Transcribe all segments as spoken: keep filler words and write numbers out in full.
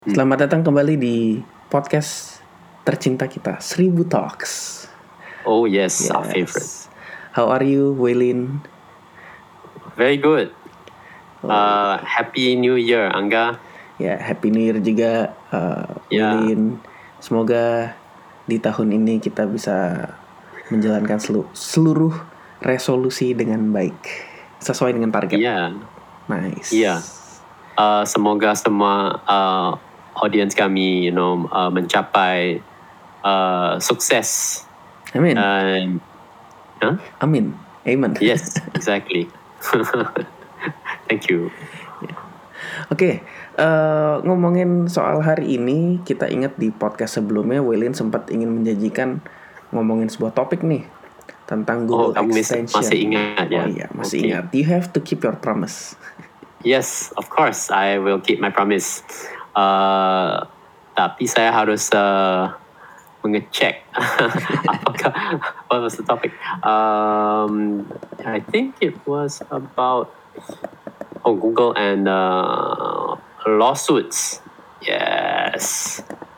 Selamat datang kembali di podcast tercinta kita, Seribu Talks. Oh yes, our favorite. How are you, Waylin? Very good. Uh, happy New Year, Angga. Ya, Happy New Year juga, uh, Ya. Waylin. Semoga di tahun ini kita bisa menjalankan selu- seluruh resolusi dengan baik, sesuai dengan target. Ya. Nice. Ya. Uh, semoga semua uh, audience kami, you know, uh, mencapai uh, sukses. Amin. And, huh? Amin. Amen. Yes, exactly. Thank you. Oke, okay, uh, ngomongin soal hari ini, kita ingat di podcast sebelumnya Waylin sempat ingin menjanjikan ngomongin sebuah topik nih tentang Google oh, kamu Extension. Masih ingat ya? Oh iya, masih okay. ingat. You have to keep your promise. Yes, of course, I will keep my promise. Uh, tapi saya harus uh, mengecek apakah what was the topic? Um, I think it was about oh Google and uh, lawsuits. Yes.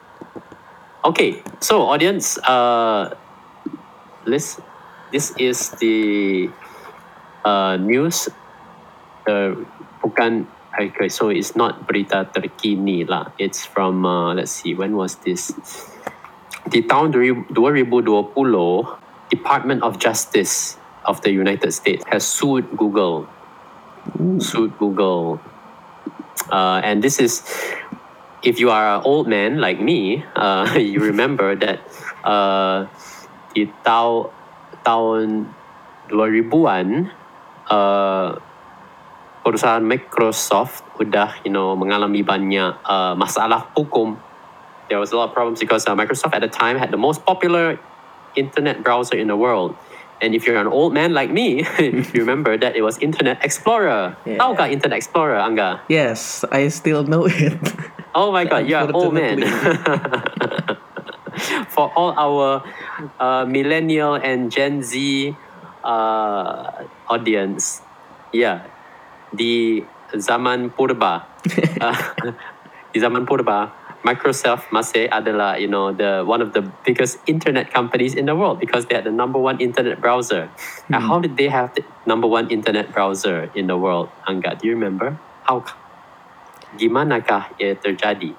Okay, so audience, uh, this this is the uh, news. Uh, bukan okay, so it's not berita terkini lah. It's from uh, let's see, when was this? Di tahun dua ribu dua puluh, Department of Justice of the United States has sued Google. Ooh. Sued Google. Uh, and this is, if you are an old man like me, uh, you remember that uh, di tahu, tahun dua ribuan, uh, perusahaan Microsoft udah, you know, mengalami banyak uh, masalah hukum. There was a lot of problems because uh, Microsoft at the time had the most popular internet browser in the world. And if you're an old man like me, you remember that it was Internet Explorer. Yeah. Tahukah Internet Explorer, Angga? Yes, I still know it. Oh my God, you're an old man. For all our uh, millennial and Gen Z uh, audience, yeah. Di zaman purba, uh, di zaman purba, Microsoft masih adalah, you know, the one of the biggest internet companies in the world because they had the number one internet browser. Hmm. Now, how did they have the number one internet browser in the world, Angga? Do you remember? How? Gimanakah ia terjadi?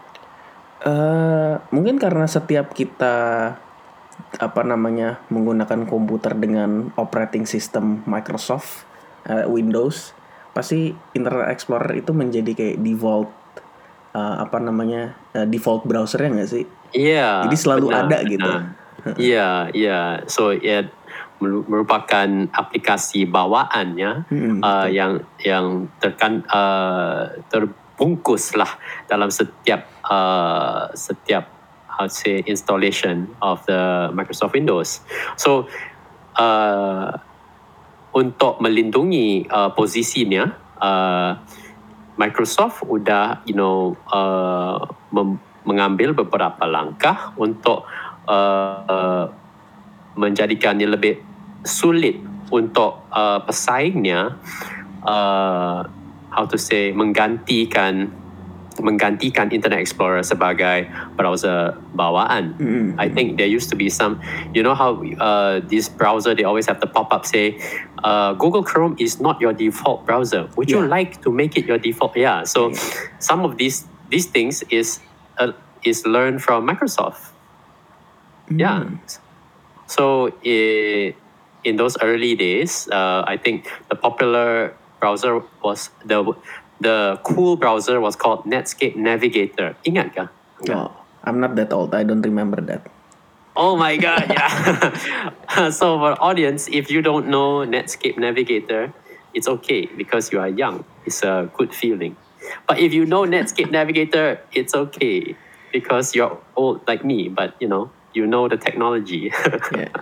Uh, mungkin karena setiap kita apa namanya menggunakan komputer dengan operating system Microsoft, uh, Windows. Pasti Internet Explorer itu menjadi kayak default uh, apa namanya uh, default browsernya nggak sih? Iya. Jadi selalu benar, ada gitu. Iya, iya. So ya merupakan aplikasi bawaannya hmm, uh, yang yang terkan uh, terbungkus lah dalam setiap uh, setiap how to say installation of the Microsoft Windows. So uh, untuk melindungi uh, posisinya, uh, Microsoft udah, you know, uh, mem- mengambil beberapa langkah untuk uh, uh, menjadikannya lebih sulit untuk uh, pesaingnya, uh, how to say, menggantikan menggantikan Internet Explorer sebagai browser bawaan. Mm-hmm. I think there used to be some, you know how uh, this browser, they always have the pop-up say, uh, Google Chrome is not your default browser. Would yeah. you like to make it your default? Yeah, so yeah. some of these these things is uh, is learned from Microsoft. Mm. Yeah. So uh, in those early days, uh, I think the popular browser was the The cool browser was called Netscape Navigator. Ingat kah? Oh, I'm not that old. I don't remember that. Oh my God, yeah. So for audience, if you don't know Netscape Navigator, it's okay because you are young. It's a good feeling. But if you know Netscape Navigator, it's okay because you're old like me, but you know, you know the technology. Yeah.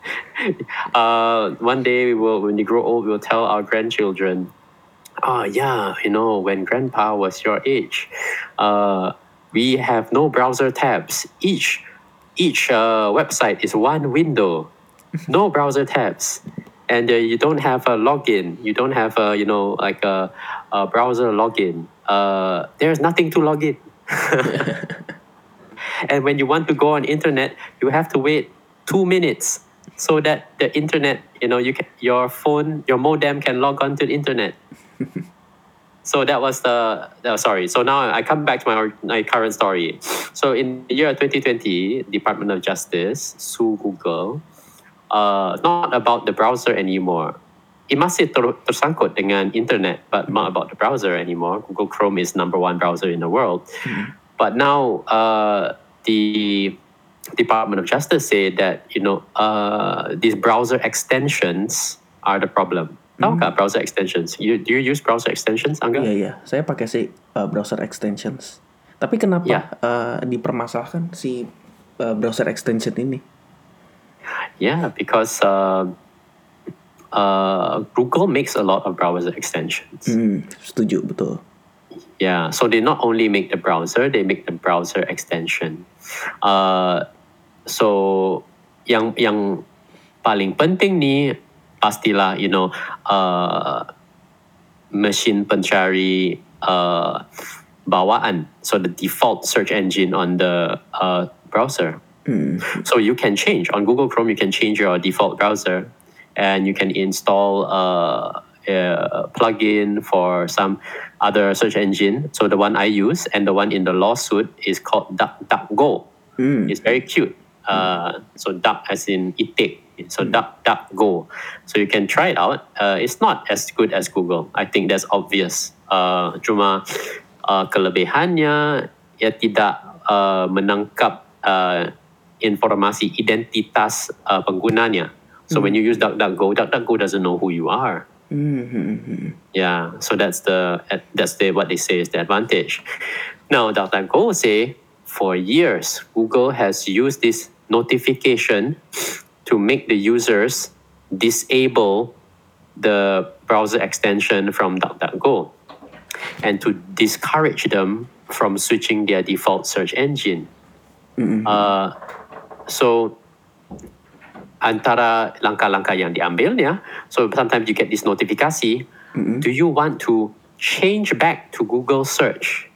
Uh, one day we will, when you grow old, we'll tell our grandchildren, oh yeah, you know, when grandpa was your age, uh, we have no browser tabs. Each each uh, website is one window, no browser tabs, and uh, you don't have a login. You don't have a, you know, like a, a browser login. Uh, there's nothing to log in. And when you want to go on internet, you have to wait two minutes so that the internet, you know, you can, your phone, your modem can log on to the internet. So that was the, uh, sorry. So now I come back to my, my current story. So in the year twenty twenty, Department of Justice sued Google, uh, not about the browser anymore. It masih ter, tersangkut dengan internet, but not about the browser anymore. Google Chrome is number one browser in the world. Mm-hmm. But now uh, the Department of Justice said that, you know, uh, these browser extensions are the problem. Tahu nggak browser extensions? You, do you use browser extensions, Angga? Iya, iya. Saya pakai sih uh, browser extensions. Tapi kenapa Yeah. uh, dipermasalahkan si uh, browser extension ini? Yeah, because uh, uh, Google makes a lot of browser extensions. Hmm, setuju, betul. Yeah, so they not only make the browser, they make the browser extension. Uh, so yang yang paling penting ni pastilah, you know, uh, mesin pencari uh, bawaan. So the default search engine on the uh, browser. Mm. So you can change on Google Chrome. You can change your default browser, and you can install uh, a plugin for some other search engine. So the one I use and the one in the lawsuit is called DuckDuckGo. Mm. It's very cute. Uh, so duck as in itik. So DuckDuckGo. So you can try it out. Uh, it's not as good as Google. I think that's obvious. Uh, cuma uh, kelebihannya ia tidak uh, menangkap uh, informasi identitas uh, penggunanya. So mm. when you use DuckDuckGo, DuckDuckGo doesn't know who you are. Mm-hmm. Yeah. So that's the that's the what they say is the advantage. Now DuckDuckGo say for years Google has used this notification to make the users disable the browser extension from DuckDuckGo and to discourage them from switching their default search engine. Mm-hmm. Uh, so, antara langkah-langkah yang diambilnya, so sometimes you get this notifikasi, mm-hmm. do you want to change back to Google search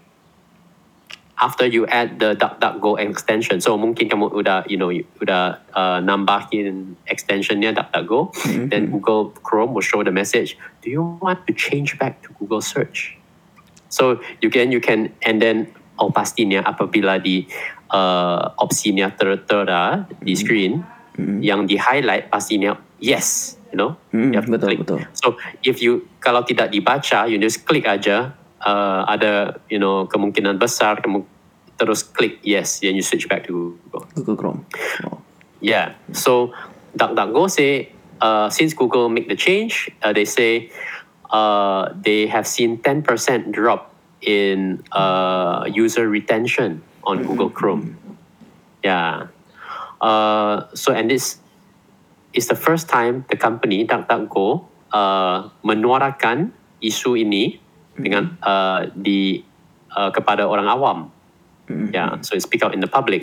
after you add the DuckDuckGo extension? So mungkin kamu udah, you know, udah uh, nambahin extensionnya DuckDuckGo, mm-hmm. then Google Chrome will show the message, do you want to change back to Google search? So you can, you can, and then oh pastinya apabila di uh, opsinya tertera di screen, mm-hmm. yang di highlight pastinya yes, you know, mm-hmm. you have to betul, click. betul. So if you, kalau tidak dibaca, you just click aja. Uh, ada, you know, kemungkinan besar kamu terus klik yes, then you switch back to Google. Google Chrome. Oh. Yeah. So DuckDuckGo say uh, since Google make the change, uh, they say uh, they have seen ten percent drop in uh, user retention on mm-hmm. Google Chrome. Yeah. Uh, so and this is the first time the company DuckDuckGo uh, menyuarakan isu ini dengan uh, di uh, kepada orang awam, mm-hmm. yeah. So it speak out in the public.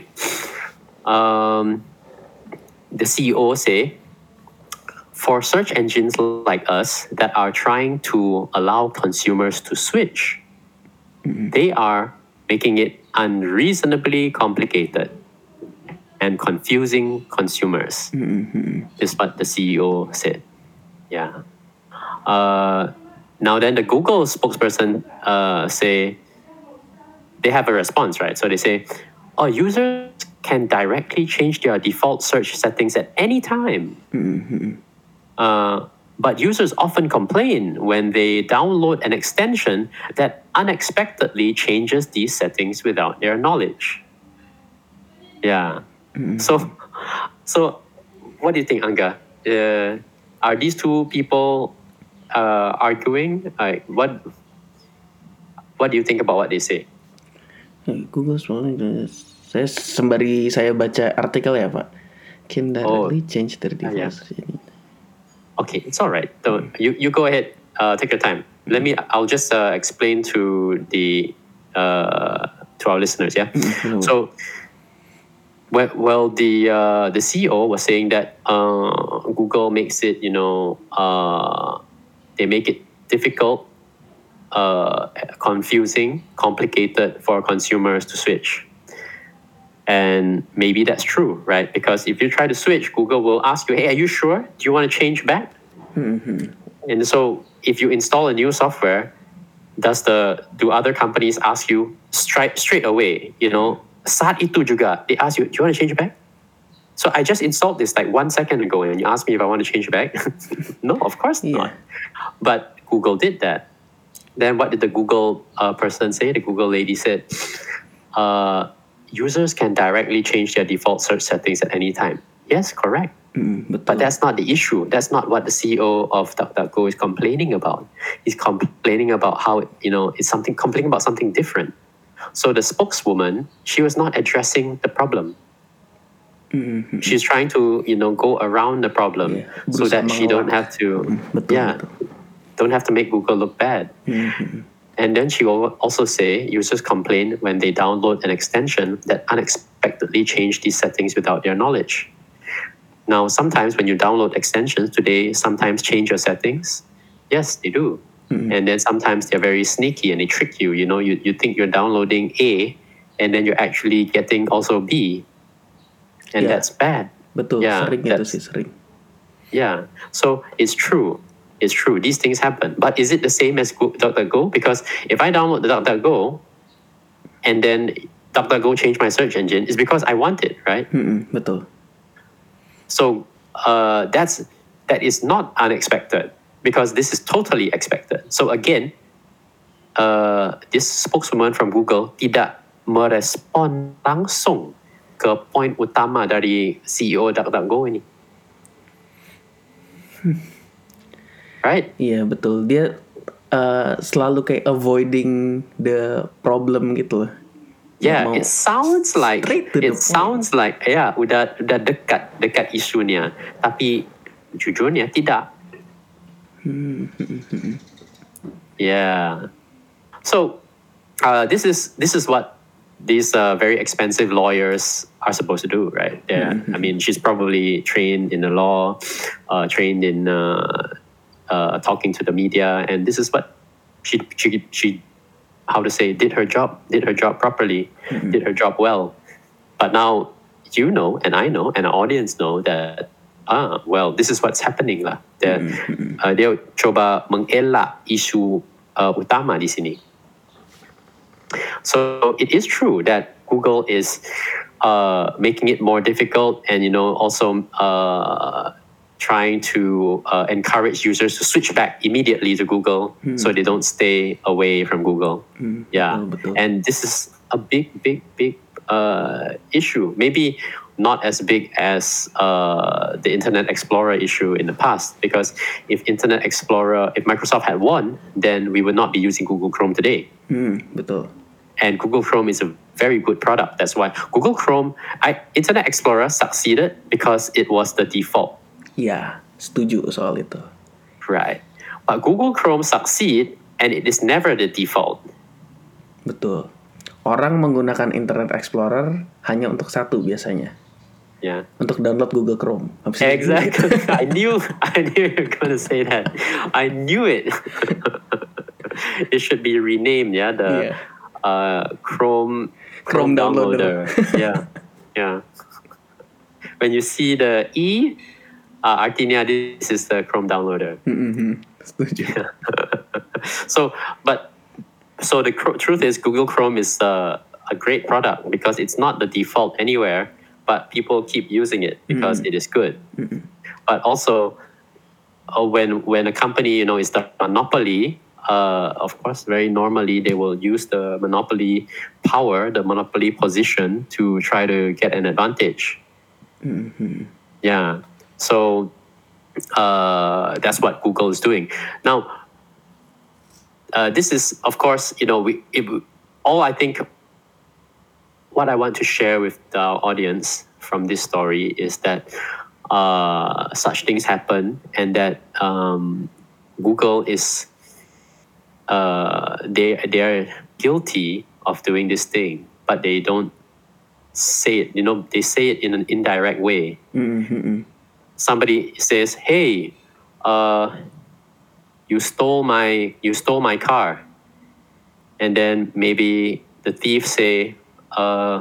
Um, the C E O say, for search engines like us that are trying to allow consumers to switch, mm-hmm. they are making it unreasonably complicated and confusing consumers. Mm-hmm. Is what the C E O said. Yeah. Uh, Now then the Google spokesperson uh, say, they have a response, right? So they say, oh, users can directly change their default search settings at any time. Mm-hmm. Uh, but users often complain when they download an extension that unexpectedly changes these settings without their knowledge. Yeah. Mm-hmm. So, so what do you think, Angga? Uh, are these two people Uh, arguing, like what? What do you think about what they say? Google soalnya saya sembari saya baca artikel ya Pak, can directly oh. change their device. Uh, yeah. Okay, it's all right. So hmm. you you go ahead. Uh, take your time. Let me. I'll just uh, explain to the uh, to our listeners. Yeah. Mm-hmm. So. Well, well, the uh, the C E O was saying that uh, Google makes it, you know, uh, they make it difficult uh, confusing, complicated for consumers to switch. And maybe that's true, right? Because if you try to switch, Google will ask you, hey, are you sure? Do you want to change back? Mm-hmm. And so if you install a new software, does the do other companies ask you straight straight away, you know, saat itu juga, they ask you, do you want to change back? So I just installed this like one second ago and you asked me if I want to change back. No, of course Yeah. not. But Google did that. Then what did the Google uh, person say? The Google lady said, uh, users can directly change their default search settings at any time. Yes, correct. Mm, betul. But that's not the issue. That's not what the C E O of DuckDuckGo is complaining about. He's complaining about how, you know, it's something, complaining about something different. So the spokeswoman, she was not addressing the problem. Mm-hmm. She's trying to, you know, go around the problem Yeah, so berusaha that she don't mengelak. have to, Betul, yeah, betul. don't have to make Google look bad. Mhm. And then she will also say users complain when they download an extension that unexpectedly change these settings without their knowledge. Now, sometimes when you download extensions today, sometimes change your settings. Yes, they do. Mm-mm. And then sometimes they're very sneaky and they trick you. You know, you, you think you're downloading A and then you're actually getting also B. And Yeah. that's bad. Betul, Yeah, sering itu that's- sih, sering. Yeah. So it's true. It's true. These things happen. But is it the same as Go- DuckDuckGo? Because if I download the DuckDuckGo and then DuckDuckGo change my search engine, it's because I want it, right? Mm-mm, betul. So uh, that's that is not unexpected because this is totally expected. So again, uh, this spokeswoman from Google tidak merespon langsung ke point utama dari C E O DuckDuckGo ini. Right? Iya, betul. Dia uh, selalu kayak avoiding the problem gitu loh. Yeah, Mau it sounds like straight to the it point. sounds like ya udah udah dekat dekat isunya, tapi jujurnya tidak. Yeah. So uh, this is this is what these uh, very expensive lawyers are supposed to do, right? Yeah. I mean, she's probably trained in the law, uh, trained in uh, uh, talking to the media, and this is what she she she how to say did her job did her job properly, did her job well. But now you know, and I know, and our audience know that ah well, this is what's happening lah. That uh, dia coba mengelak isu uh, utama di sini. So it is true that Google is uh, making it more difficult, and you know also uh, trying to uh, encourage users to switch back immediately to Google, so they don't stay away from Google. Yeah, betul, betul. and this is a big, big, big uh, issue. Maybe not as big as uh, the Internet Explorer issue in the past, because if Internet Explorer, if Microsoft had won, then we would not be using Google Chrome today. Hmm, betul. And Google Chrome is a very good product. That's why Google Chrome, I, Internet Explorer succeeded because it was the default, Ya, setuju soal itu. right? But Google Chrome succeed and it is never the default. Betul. Orang menggunakan Internet Explorer hanya untuk satu biasanya. Yeah. Untuk download Google Chrome. Habis itu- Exactly. I knew I knew you were going to say that. I knew it. It should be renamed, yeah, the Yeah. uh, Chrome Chrome downloader. yeah. Yeah. When you see the E, uh, artinya this is the Chrome downloader. Mm-mm, setuju. So, but so the cr- truth is, Google Chrome is uh, a great product because it's not the default anywhere, but people keep using it because it is good. But also, uh, when when a company you know is the monopoly, uh, of course, very normally they will use the monopoly power, the monopoly position to try to get an advantage. Yeah. So uh, that's what Google is doing now. Uh, this is, of course, you know, we it, all I think. What I want to share with the audience from this story is that uh, such things happen, and that um, Google is uh, they they are guilty of doing this thing, but they don't say it. You know, they say it in an indirect way. Mm-mm. Somebody says, "Hey, uh, you stole my you stole my car." and then maybe the thief say, uh,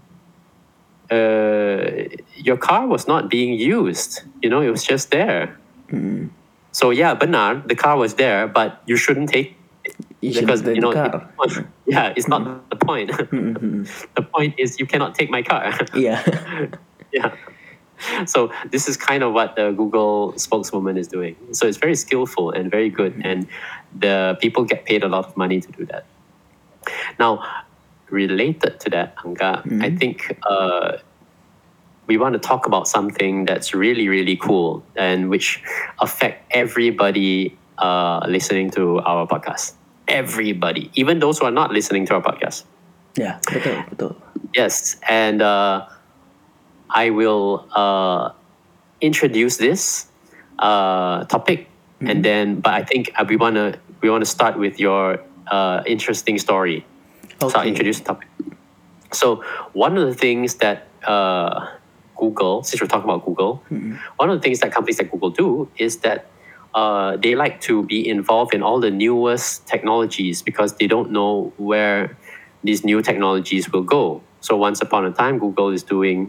uh, your car was not being used. You know, it was just there. Mm. So yeah, benar, the car was there, but you shouldn't take it You should because take you know, the car. it- yeah, it's not the point. The point is you cannot take my car. Iya. Yeah. So this is kind of what the Google spokeswoman is doing. So it's very skillful and very good, and the people get paid a lot of money to do that. Now, related to that, Angga, I think uh, we want to talk about something that's really, really cool and which affect everybody uh, listening to our podcast. Everybody, even those who are not listening to our podcast. Ya, betul, betul. Yes, and uh, I will uh, introduce this uh, topic, mm-hmm. and then. But I think uh, we wanna we wanna start with your uh, interesting story. Okay. So I'll introduce the topic. So one of the things that uh, Google, since we're talking about Google, mm-hmm. one of the things that companies like Google do is that uh, they like to be involved in all the newest technologies because they don't know where these new technologies will go. So once upon a time, Google is doing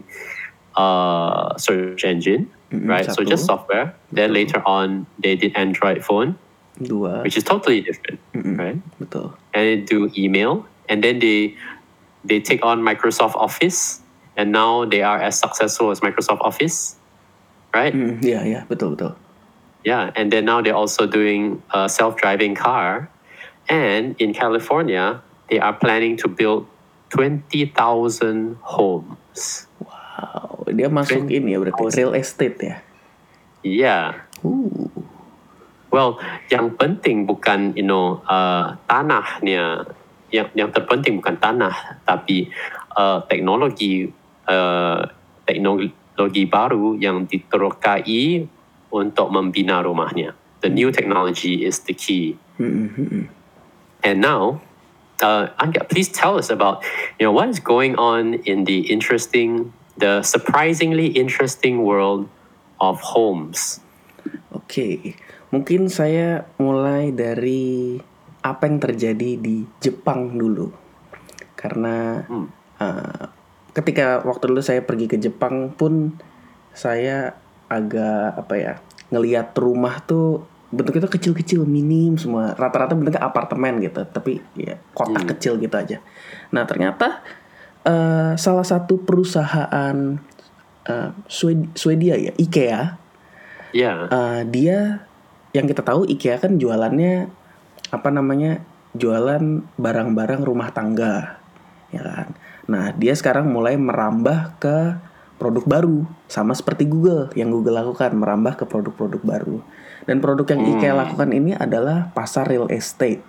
uh, search engine, mm-hmm, right? satu. So just software. Then Betul. later on, they did Android phone, Dua. which is totally different, mm-hmm. right? Betul. And they do email, and then they they take on Microsoft Office, and now they are as successful as Microsoft Office, right? Mm, yeah, yeah, betul, betul. Yeah, and then now they're also doing a self-driving car, and in California, they are planning to build twenty thousand homes. Wow, dia masuk ini ya berarti real estate ya? Yeah. Uh. Well, yang penting bukan you know uh, tanahnya, yang yang terpenting bukan tanah, tapi uh, teknologi uh, teknologi baru yang diterokai untuk membina rumahnya. The new technology is the key. Mm-hmm. And now, uh, Angga, please tell us about you know what is going on in the interesting, the surprisingly interesting world of homes. Oke, okay. Mungkin saya mulai dari apa yang terjadi di Jepang dulu. Karena hmm. uh, ketika waktu dulu saya pergi ke Jepang pun saya agak apa ya, ngelihat rumah tuh bentuknya tuh kecil-kecil, minim semua. Rata-rata bentuknya apartemen gitu, tapi ya kotak hmm. kecil gitu aja. Nah, ternyata uh, salah satu perusahaan uh, Swed- Swedia ya, IKEA. Yeah. Uh, dia yang kita tahu IKEA kan jualannya apa namanya? Jualan barang-barang rumah tangga. Ya kan? Nah, dia sekarang mulai merambah ke produk baru, sama seperti Google yang Google lakukan, merambah ke produk-produk baru. Dan produk yang IKEA hmm. lakukan ini adalah pasar real estate.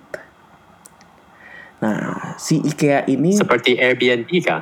Nah, si IKEA ini seperti Airbnb kah?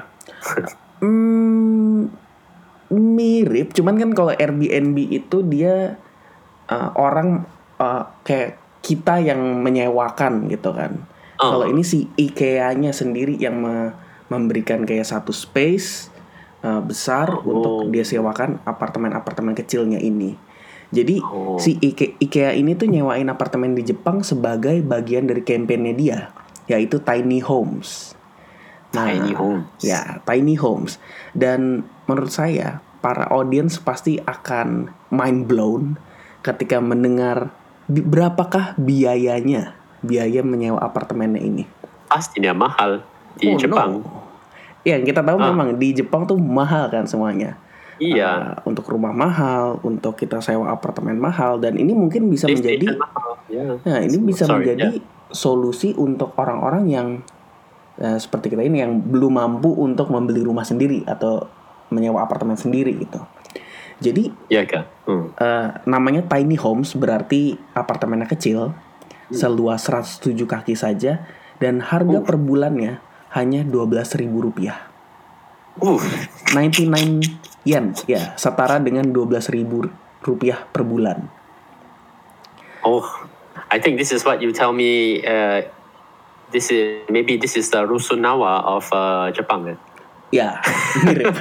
hmm, mirip, cuman kan kalau Airbnb itu dia uh, orang uh, kayak kita yang menyewakan gitu kan. Oh. Kalau ini si IKEA-nya sendiri yang me- memberikan kayak satu space uh, besar oh. untuk dia sewakan apartemen-apartemen kecilnya ini. Jadi oh. si Ike- IKEA ini tuh nyewain apartemen di Jepang sebagai bagian dari kampanye dia, yaitu tiny homes. Nah, tiny homes. Ya, tiny homes. Dan menurut saya para audiens pasti akan mind blown ketika mendengar bi- berapakah biayanya, biaya menyewa apartemennya ini. Pastinya mahal di oh, Jepang. No. Ya, kita tahu ah. memang di Jepang tuh mahal kan semuanya. Iya. Uh, untuk rumah mahal, untuk kita sewa apartemen mahal, dan ini mungkin bisa This menjadi, yeah. nah ini bisa Sorry, menjadi yeah. solusi untuk orang-orang yang uh, seperti kita ini yang belum mampu untuk membeli rumah sendiri atau menyewa apartemen sendiri gitu. Jadi, yeah, kan? hmm. uh, namanya tiny homes berarti apartemennya kecil, hmm. seluas seratus tujuh kaki saja, dan harga uh. per bulannya hanya dua belas ribu rupiah. Uh. sembilan puluh sembilan yen, ya, setara dengan dua belas ribu rupiah per bulan. Oh, I think this is what you tell me. Uh, this is maybe this is the Rusunawa of uh, Jepang, kan? Ya, mirip.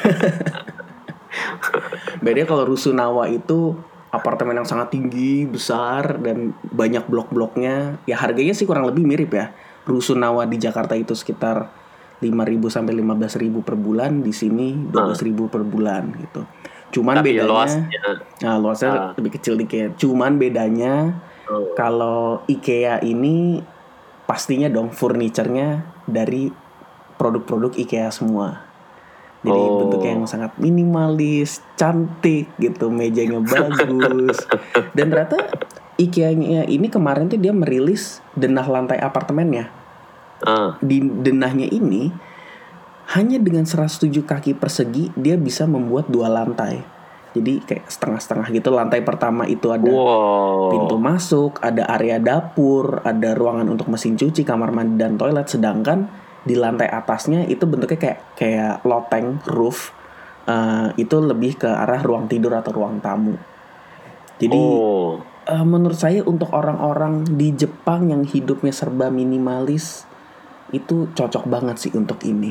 Beda kalau Rusunawa itu apartemen yang sangat tinggi, besar, dan banyak blok-bloknya. Ya harganya sih kurang lebih mirip ya. rusunawa di Jakarta itu sekitar lima ribu sampai lima belas ribu per bulan, di sini dua belas ribu per bulan gitu. Cuman Tapi bedanya, luasnya, nah luasnya ah. lebih kecil dikit. Cuman bedanya Oh. kalau IKEA ini pastinya dong furniturnya dari produk-produk IKEA semua. Jadi Oh. bentuknya yang sangat minimalis, cantik gitu, mejanya bagus. Dan ternyata IKEA-nya ini kemarin tuh dia merilis denah lantai apartemennya. Ah. Di denahnya ini hanya dengan seratus tujuh kaki persegi dia bisa membuat dua lantai. Jadi kayak setengah-setengah gitu. Lantai pertama itu ada Wow. pintu masuk, ada area dapur, ada ruangan untuk mesin cuci, kamar mandi dan toilet. Sedangkan di lantai atasnya itu bentuknya kayak kayak loteng roof. Uh, itu lebih ke arah ruang tidur atau ruang tamu. Jadi Oh. uh, menurut saya untuk orang-orang di Jepang yang hidupnya serba minimalis itu cocok banget sih untuk ini.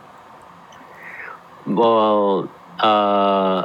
Well, uh,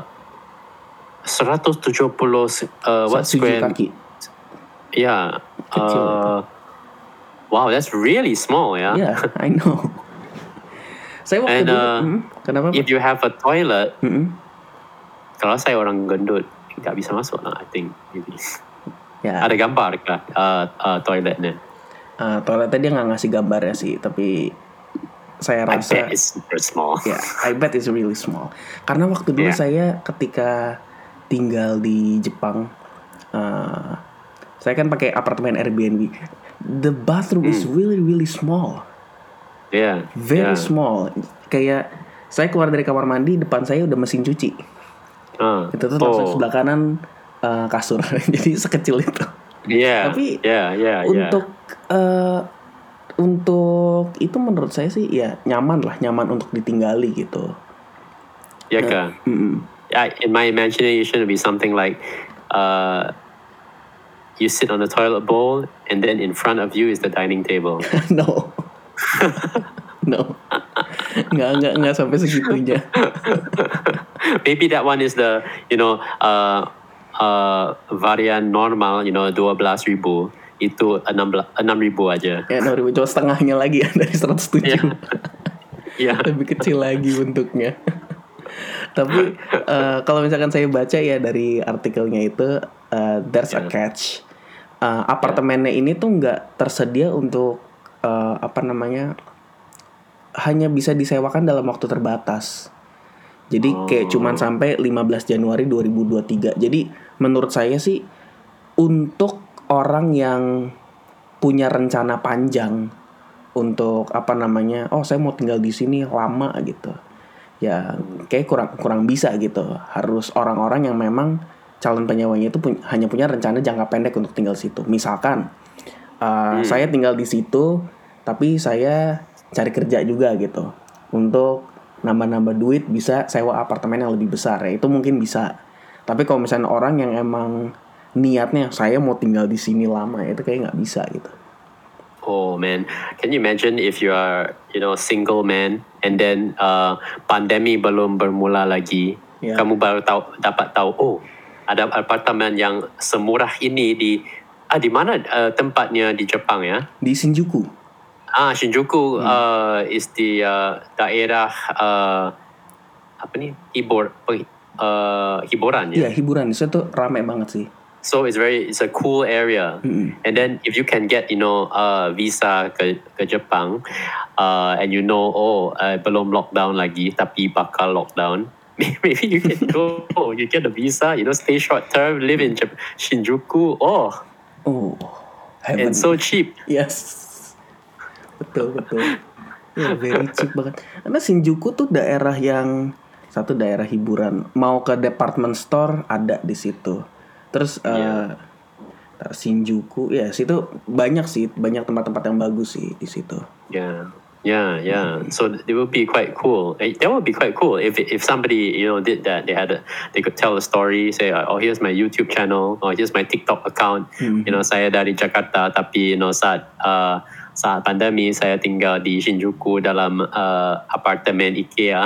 seratus tujuh puluh uh, what tujuh square? kaki. Yeah. Kecil itu. Uh, wow, that's really small, yeah. Yeah, I know. Saya waktu And, dulu, uh, hmm, kenapa? If you have a toilet, Mm-mm. kalau saya orang gendut, nggak bisa masuk lah, I think. Maybe. Ya. Ada gambar kah uh, uh, toiletnya? Uh, toiletnya dia nggak ngasih gambar ya sih, tapi saya I rasa. bet it's super small. Ya, yeah, I bet it's really small. Karena waktu dulu Yeah. saya ketika tinggal di Jepang, uh, saya kan pakai apartemen Airbnb. The bathroom mm. is really really small. Yeah. Very yeah. small. Kayak saya keluar dari kamar mandi, depan saya udah mesin cuci. Uh, itu tuh langsung oh. sebelah kanan uh, kasur. Jadi sekecil itu. Yeah. Tapi yeah, yeah, untuk yeah. uh, untuk itu menurut saya sih ya nyaman lah, nyaman untuk ditinggali gitu. Ya kan? Uh, yeah, in my imagination, it would be something like uh, you sit on the toilet bowl, and then in front of you is the dining table. No, no, nggak nggak nggak sampai segitunya. Maybe that one is the you know uh, uh, varian normal, you know dua belas ribu. Itu enam ribu aja. Ya enam ribu cuma setengahnya lagi ya dari seratus tujuh. Iya. Yeah. Lebih kecil lagi bentuknya. Tapi uh, kalau misalkan saya baca ya dari artikelnya itu uh, there's yeah. a catch. Uh, apartemennya yeah. ini tuh nggak tersedia untuk uh, apa namanya hanya bisa disewakan dalam waktu terbatas. Jadi oh. kayak cuman sampai lima belas Januari dua ribu dua puluh tiga. Jadi menurut saya sih untuk orang yang punya rencana panjang untuk apa namanya, oh saya mau tinggal di sini lama gitu, ya kayak kurang kurang bisa gitu. Harus orang-orang yang memang calon penyewanya itu pu- hanya punya rencana jangka pendek untuk tinggal situ. Misalkan uh, hmm. saya tinggal di situ, tapi saya cari kerja juga gitu, untuk nambah-nambah duit bisa sewa apartemen yang lebih besar ya itu mungkin bisa. Tapi kalau misalnya orang yang emang niatnya saya mau tinggal di sini lama itu kayak nggak bisa gitu. Oh man, can you imagine if you are you know single man and then uh, pandemi belum bermula lagi, yeah. kamu baru tahu dapat tahu oh ada apartemen yang semurah ini di ah di mana uh, tempatnya di Jepang ya? Di Shinjuku. Ah Shinjuku hmm. uh, is di uh, daerah uh, apa nih hibur uh, hiburan ya? Iya yeah, hiburan itu tuh ramai banget sih. So it's very it's a cool area, mm-hmm. and then if you can get you know uh, visa ke ke Jepang, uh, and you know oh uh, belum lockdown lagi tapi bakal lockdown, maybe you can go oh, you get the visa you know stay short term live in Jap- Shinjuku oh oh and so cheap. Yes, betul betul ya yeah, very cheap banget karena Shinjuku tuh daerah yang satu daerah hiburan, mau ke department store ada di situ. Terus yeah. uh, Shinjuku ya situ banyak sih banyak tempat-tempat yang bagus sih di situ. Yeah, yeah, yeah. So it would be quite cool. That would be quite cool if if somebody you know did that. They had a, they could tell a story. Say, oh here's my YouTube channel. Or here's my TikTok account. Mm-hmm. You know saya dari Jakarta tapi you know saat uh, saat pandemi saya tinggal di Shinjuku dalam uh, apartemen IKEA.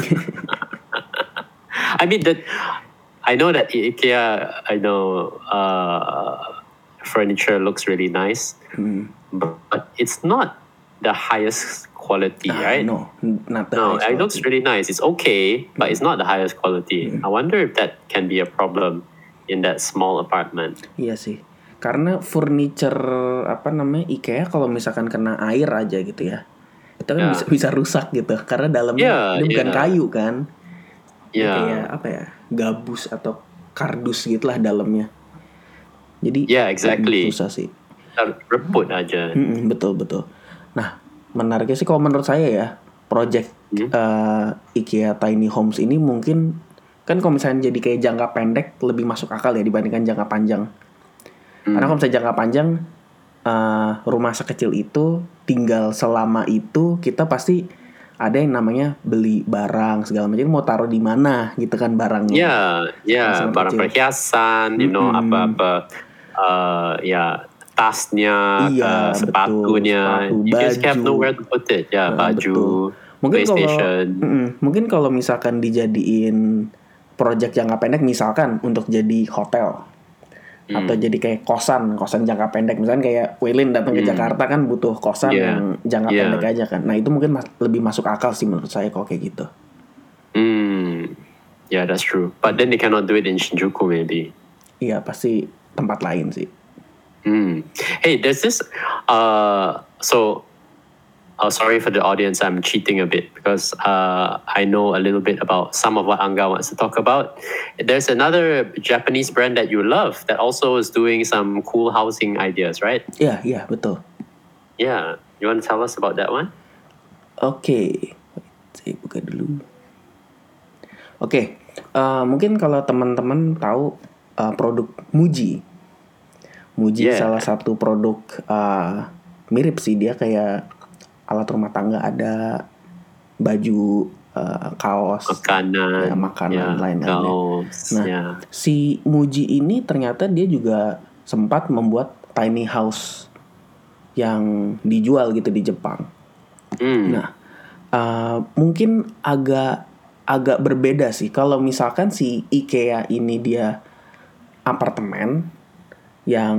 I mean that. I know that IKEA, I know uh, furniture looks really nice, mm. but it's not the highest quality, Ah, right? no, not the No, highest it looks quality. really nice. It's okay, but it's not the highest quality. I wonder if that can be a problem in that small apartment. Iya sih. Karena furniture apa namanya IKEA kalau misalkan kena air aja gitu ya, itu kan Yeah. bisa bisa rusak gitu. Karena dalamnya Yeah, ini bukan yeah. kayu kan, dia Yeah. kayak apa ya, gabus atau kardus gitulah dalamnya. Jadi Yeah, exactly. susah sih. Reput aja. Mm-mm, betul betul. Nah, menariknya sih kalau menurut saya ya, project Hmm. uh, IKEA Tiny Homes ini mungkin kan kalau misalnya jadi kayak jangka pendek lebih masuk akal ya dibandingkan jangka panjang. Hmm. Karena kalau misalnya jangka panjang uh, rumah sekecil itu tinggal selama itu kita pasti ada yang namanya beli barang segala macam, mau taruh di mana gitu kan barangnya. Yeah, yeah, Sangat barang kecil. perhiasan, you know, Mm-mm. apa-apa, uh, ya tasnya, Iya, ke sepatunya. betul. Sepatu, You just have baju. nowhere to put it. Ya, Nah, baju, betul. Mungkin kalau PlayStation. mm-mm, mungkin kalau misalkan dijadiin project jangka pendek misalkan untuk jadi hotel Hmm. atau jadi kayak kosan, kosan jangka pendek misalkan kayak Waylin datang ke Hmm. Jakarta kan butuh kosan Yeah. yang jangka Yeah. pendek aja kan. Nah, itu mungkin mas- lebih masuk akal sih menurut saya kalau kayak gitu. Hmm. Yeah, that's true. But then they cannot do it in Shinjuku, maybe. Iya, pasti tempat lain sih. Hmm. Hey, there's this. Uh, so, uh, sorry for the audience. I'm cheating a bit because uh, I know a little bit about some of what Anga wants to talk about. There's another Japanese brand that you love that also is doing some cool housing ideas, right? Iya, iya, betul. Yeah. You want to tell us about that one? Oke, saya buka dulu. Oke, uh, mungkin kalau teman-teman tahu uh, produk Muji. Muji Yeah. salah satu produk uh, mirip sih, dia kayak alat rumah tangga, ada baju, uh, kaos, Makanan, ya, makanan yeah, lain-lainnya. kaos, Nah, yeah. si Muji ini ternyata dia juga sempat membuat tiny house yang dijual gitu di Jepang. Hmm. Nah, uh, mungkin agak agak berbeda sih. Kalau misalkan si IKEA ini dia apartemen yang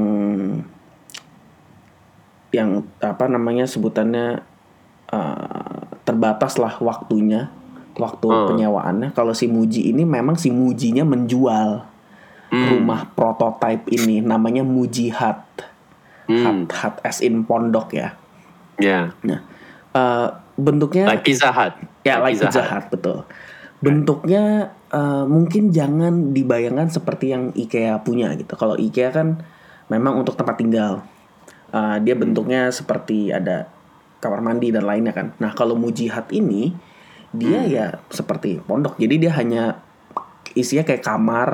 yang apa namanya sebutannya uh, terbatas lah waktunya, waktu Hmm. penyewaannya. Kalau si Muji ini memang si Mujinya menjual Hmm. rumah prototype ini, namanya Muji Hut. Hmm. Hut, hut as in pondok ya. Yeah. Nah, uh, bentuknya Like Pizza Hut. ya like Pizza Hut, betul. Bentuknya uh, mungkin jangan dibayangkan seperti yang IKEA punya gitu. Kalau IKEA kan memang untuk tempat tinggal. Uh, dia bentuknya seperti ada kamar mandi dan lainnya kan. Nah, kalau Muji Hut ini dia Hmm. ya seperti pondok. Jadi dia hanya isinya kayak kamar.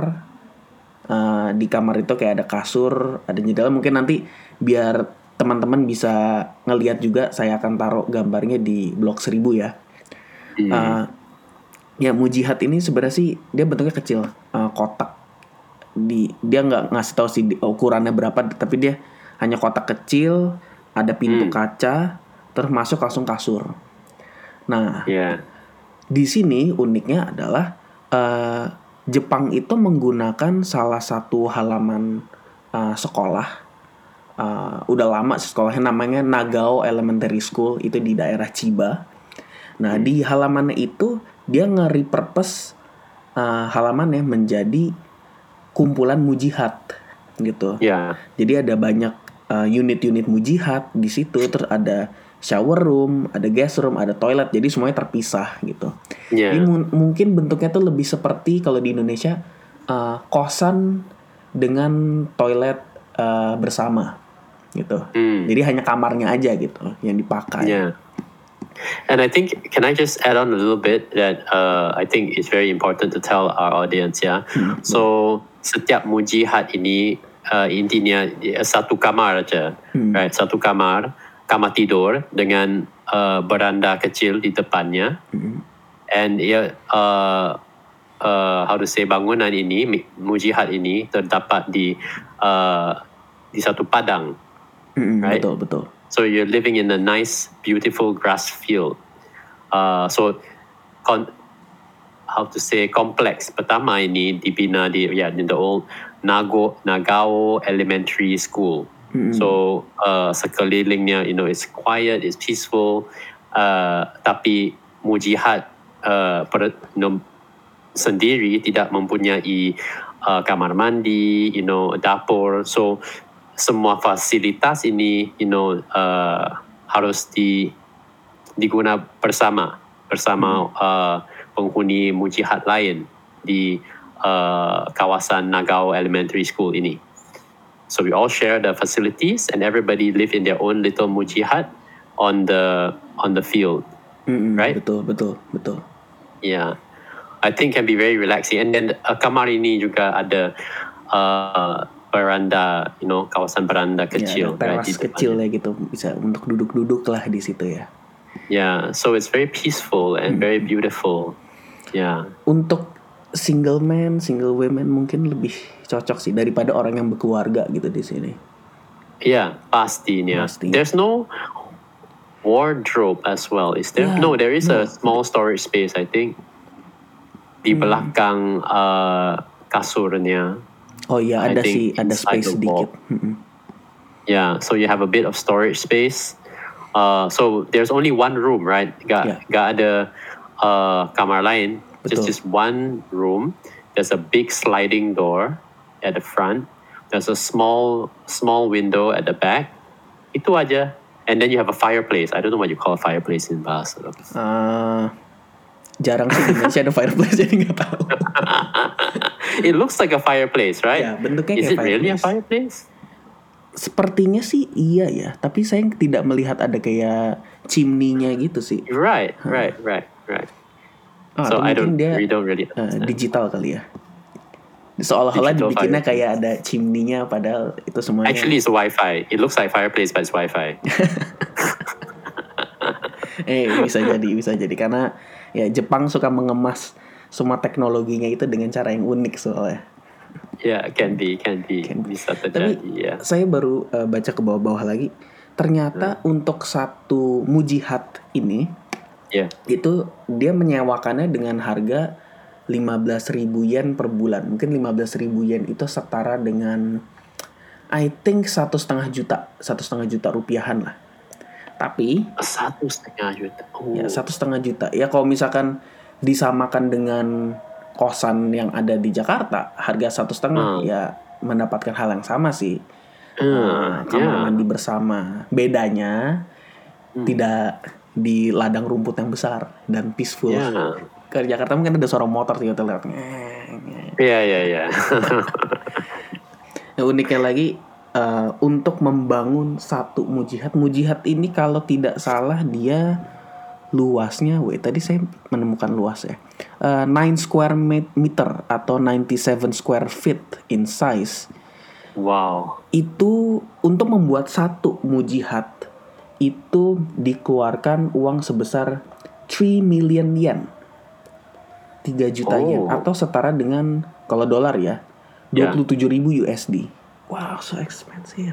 Uh, di kamar itu kayak ada kasur, ada jendela. Mungkin nanti biar teman-teman bisa ngelihat juga, saya akan taruh gambarnya di blog seribu ya. Hmm. Uh, ya Muji Hut ini sebenarnya sih dia bentuknya kecil, uh, kotak. Di dia nggak ngasih tahu sih ukurannya berapa, tapi dia hanya kotak kecil, ada pintu Hmm. kaca, terus masuk langsung kasur. Nah, Yeah. di sini uniknya adalah uh, Jepang itu menggunakan salah satu halaman uh, sekolah. Uh, udah lama sih sekolahnya, namanya Nagao Elementary School, itu di daerah Chiba. Nah, Hmm. di halamannya itu dia nge-repurpose uh, halamannya menjadi kumpulan Muji Hut gitu. Yeah. Jadi ada banyak uh, unit-unit Muji Hut di situ, terus ada shower room, ada guest room, ada toilet. Jadi semuanya terpisah gitu. Yeah. Jadi mu- mungkin bentuknya tuh lebih seperti kalau di Indonesia uh, kosan dengan toilet uh, bersama gitu. Hmm. Jadi hanya kamarnya aja gitu yang dipakai. Yeah. And I think, can I just add on a little bit that uh, I think it's very important to tell our audience, ya. Hmm. So, setiap Muji Hut ini uh, intinya uh, satu kamar aja, Hmm. right? Satu kamar, kamar tidur dengan uh, beranda kecil di depannya. Hmm. And ya, uh, uh, how to say, bangunan ini, Muji Hut ini terdapat di uh, di satu padang. Hmm, Right. betul betul. So you're living in a nice, beautiful grass field. Uh, so, con- how to say, kompleks pertama ini dibina di, yeah, in the old Nago, Nagao Elementary School. Mm-mm. So uh, sekelilingnya, you know, it's quiet, it's peaceful. Uh, tapi Mujihad uh, per, you know, sendiri tidak mempunyai uh, kamar mandi, you know, dapur. So semua fasilitas ini, you know, uh, harus di diguna bersama bersama uh, penghuni Mujihad lain di uh, kawasan Nagao Elementary School ini. So we all share the facilities, and everybody live in their own little Mujihad on the on the field. Mm-mm, Right? Betul, betul, betul. Yeah, I think can be very relaxing. And then uh, kamar ini juga ada uh, beranda, you know, kawasan beranda Ya, kecil, ada right, teras di depannya. kecil ya gitu, bisa untuk duduk-duduk lah di situ ya. Yeah, so it's very peaceful and very beautiful. Yeah. Untuk single man, single women mungkin lebih cocok sih daripada orang yang berkeluarga gitu di sini. Yeah, pastinya. Pasti. There's no wardrobe as well, is there? Yeah, no, there is no. a small storage space, I think. Di belakang uh, kasurnya. Oh iya, I ada think sih, ada inside space the wall. sedikit. Mm-mm. Yeah, so you have a bit of storage space. Uh, so there's only one room, right? Gak, Yeah. gak ada uh, kamar lain. Just Betul. just one room. There's a big sliding door at the front. There's a small small window at the back. Itu aja. And then you have a fireplace. I don't know what you call a fireplace in Bahasa. Uh, jarang sih di Indonesia ada fireplace jadi nggak tahu. It looks like a fireplace, right? Ya, bentuknya Is kayak it really a fireplace. fireplace? Sepertinya sih iya ya, tapi saya tidak melihat ada kayak chimney-nya gitu sih. Right, right, right, right. Oh, So atau I mungkin don't, dia we don't really uh, understand. digital kali ya. Seolah-olah Digital dibikinnya fireplace. kayak ada chimney-nya padahal itu semuanya. Actually, it's Wi-Fi. It looks like fireplace, but it's Wi-Fi. eh bisa jadi, bisa jadi karena ya Jepang suka mengemas semua teknologinya itu dengan cara yang unik soalnya. Yeah, can be, can be. Can be. Bisa Tapi terjadi, ya. saya baru uh, baca ke bawah-bawah lagi. Ternyata untuk satu Mujihad ini Yeah. itu dia menyewakannya dengan harga lima belas ribu yen per bulan. Mungkin lima belas ribu yen itu setara dengan I think satu setengah juta, satu setengah juta rupiahan lah. Tapi Satu setengah juta. Oh. ya satu setengah juta. Ya kalau misalkan disamakan dengan kosan yang ada di Jakarta, harga satu setengah Hmm. ya mendapatkan hal yang sama sih. Hmm, Nah, kamar yeah. mandi bersama. Bedanya tidak di ladang rumput yang besar dan peaceful. Yeah. Ke Jakarta mungkin ada suara motor tiba-tiba lewat. Yeah, yeah, yeah. Yang uniknya lagi uh, untuk membangun satu Mujihad. Mujihad ini kalau tidak salah dia luasnya, wait tadi saya menemukan luas ya. Uh, nine square meter atau ninety-seven square feet in size. Wow. Itu untuk membuat satu Mujihad itu dikeluarkan uang sebesar three million yen, tiga juta yen, Oh. atau setara dengan kalau dolar ya Yeah. dua puluh tujuh ribu U S D. Wow, so expensive.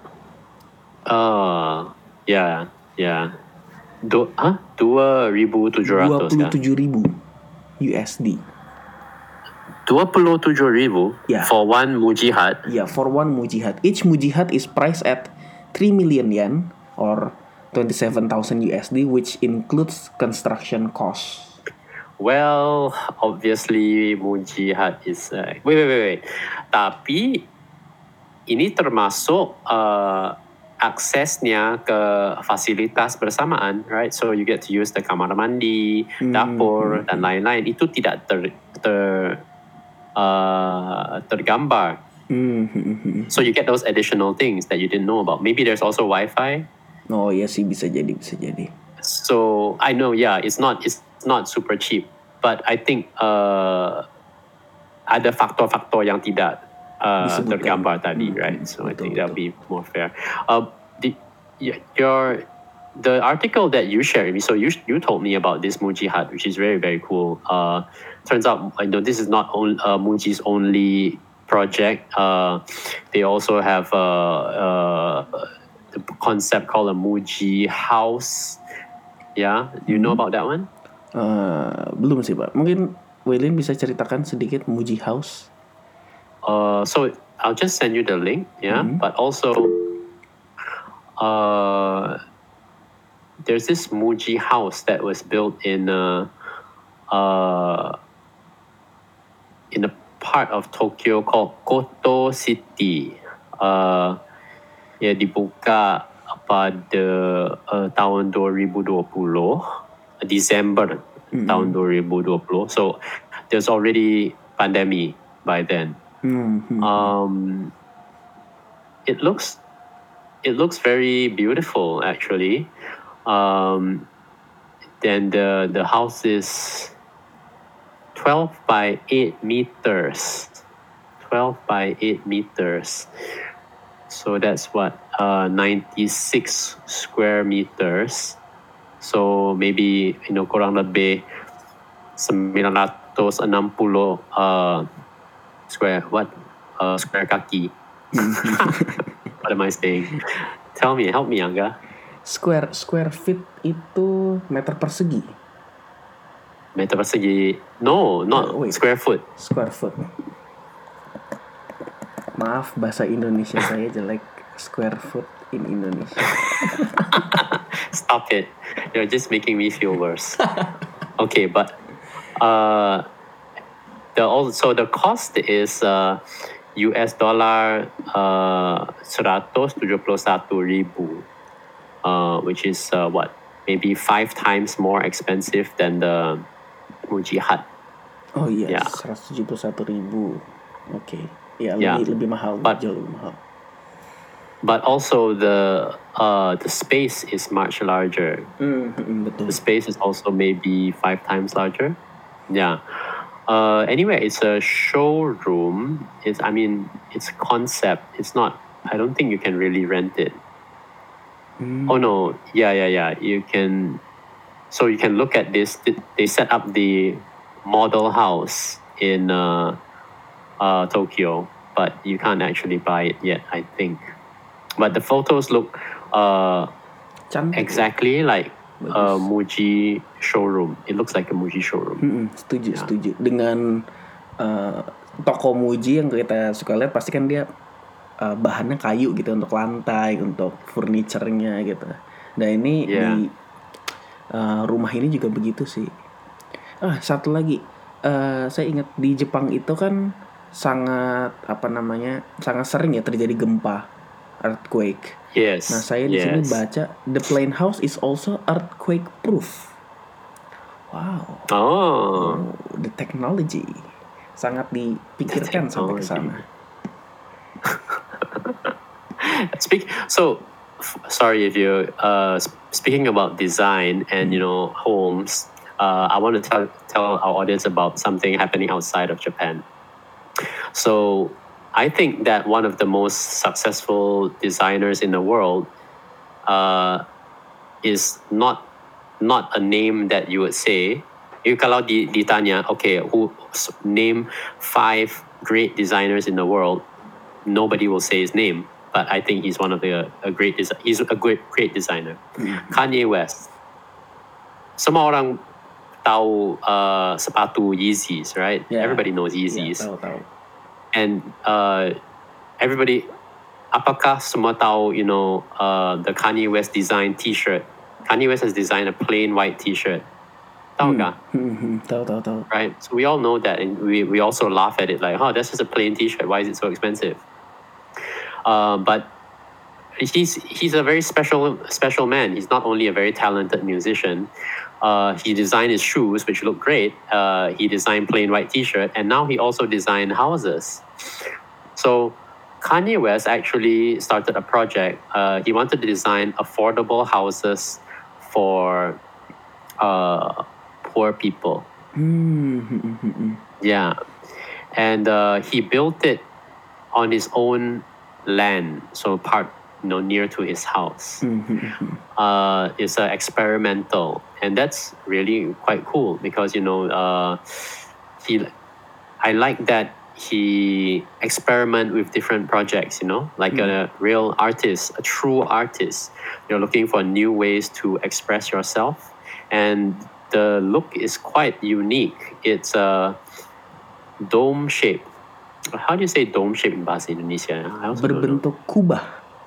Uh, yeah, yeah. Du, huh? Dua ribu tujuh dua ratus puluh kan? tujuh ribu U S D. Dua puluh tujuh ribu Yeah. for one Mujihad. Yeah, for one Mujihad. Each Mujihad is priced at three million yen or twenty-seven thousand U S D, which includes construction costs. Well, obviously Mujihad is uh, wait wait wait wait. Tapi ini termasuk uh, aksesnya ke fasilitas bersamaan, right? So you get to use the kamar mandi, dapur dan lain-lain. Itu tidak ter, ter uh, tergambar. Hmm. So you get those additional things that you didn't know about. Maybe there's also Wi-Fi. Oh iya sih, bisa jadi, bisa jadi. So I know, yeah, it's not it's not super cheap, but I think uh, ada faktor-faktor yang tidak uh, Disebutkan. tergambar tadi, Hmm, right? So I betul, think that'll be more fair. Uh, the, y- your the article that you shared with me, so you you told me about this Mujihad, which is very very cool. Uh, turns out, I know this is not on, uh, Muji's only project. Uh, they also have a, uh, the concept called a Muji house. Yeah, do you know about that one? Uh, belum sih Pak. Mungkin Waylin bisa ceritakan sedikit Muji House. Uh, so I'll just send you the link. Yeah, but also uh, there's this Muji house that was built in uh, uh, in a part of Tokyo called Koto City. Uh, ya dibuka pada uh, tahun dua ribu dua puluh, December mm-hmm. tahun dua ribu dua puluh. So there's already pandemic by then. Mm-hmm. Um, it looks it looks very beautiful actually. Um, then the the house is twelve by eight meters. twelve by eight meters. So that's what uh, ninety-six square meters. So maybe you know kurang lebih sembilan ratus enam puluh uh, square what uh, square kaki. What am I saying? Tell me, help me, Angga. Square square feet itu meter persegi. Meter persegi. No, not uh, square foot. Square foot. Maaf, bahasa Indonesia saya jelek. Square foot in Indonesia. Stop it. You're just making me feel worse. Okay, but uh, the also the cost is uh, U S dollar uh, seratus tujuh puluh satu ribu, uh, which is uh, what maybe five times more expensive than the Muji hut. Oh iya, yeah. seratus tujuh puluh satu ribu. Oke. Okay. Ya, lebih yeah. lebih mahal, but, jauh lebih mahal. But also the uh, the space is much larger. Mm, betul. The space is also maybe five times larger. Yeah. Uh, anyway, it's a showroom. It's I mean, it's a concept. It's not. I don't think you can really rent it. Mm. Oh no! Yeah, yeah, yeah. You can. So you can look at this. They set up the model house in. Uh, Uh, Tokyo, but you can't actually buy it yet, I think. But the photos look uh, exactly like a Muji showroom. It looks like a Muji showroom. Mm-mm, setuju, yeah. setuju. Dengan uh, toko Muji yang kita suka lihat, pasti kan dia uh, bahannya kayu gitu untuk lantai, untuk furniturnya gitu. Nah ini yeah. di uh, rumah ini juga begitu sih. Ah, satu lagi, uh, saya ingat di Jepang itu kan sangat apa namanya sangat sering ya terjadi gempa, earthquake. Yes. Nah saya di yes. sini baca the plain house is also earthquake proof. Wow. Oh. oh. The technology sangat dipikirkan sampai ke sana. Speak. So sorry if you uh speaking about design and you know homes. Uh, I want to tell tell our audience about something happening outside of Japan. So I think that one of the most successful designers in the world uh, is not not a name that you would say. You kalau ditanya, okay, who name five great designers in the world, nobody will say his name. But I think he's one of the a great desi- he's a great great designer. Mm-hmm. Kanye West. Semua orang tahu uh, sepatu Yeezys, right? Yeah. Everybody knows Yeezys. Yeah, tahu, tahu. And uh, everybody, apakah semua tahu, you know, uh, the Kanye West design T-shirt? Kanye West has designed a plain white T-shirt. Tahu nggak? Mm-hmm. Tahu, tahu, tahu. Right. So we all know that, and we we also laugh at it, like, oh, that's just a plain T-shirt. Why is it so expensive? Uh, but he's he's a very special special man. He's not only a very talented musician. Uh, he designed his shoes, which look great. Uh, he designed plain white T-shirt, and now he also designed houses. So Kanye West actually started a project. Uh, he wanted to design affordable houses for uh, poor people. Mm-hmm. Yeah, and uh, he built it on his own land, so part you know near to his house. Mm-hmm. Uh, it's uh, experimental, and that's really quite cool because you know uh, he. I like that he experiment with different projects. You know, like mm. a real artist, a true artist. You're looking for new ways to express yourself, and the look is quite unique. It's a dome shape. How do you say dome shape in bahasa Indonesia? Berbentuk kubah.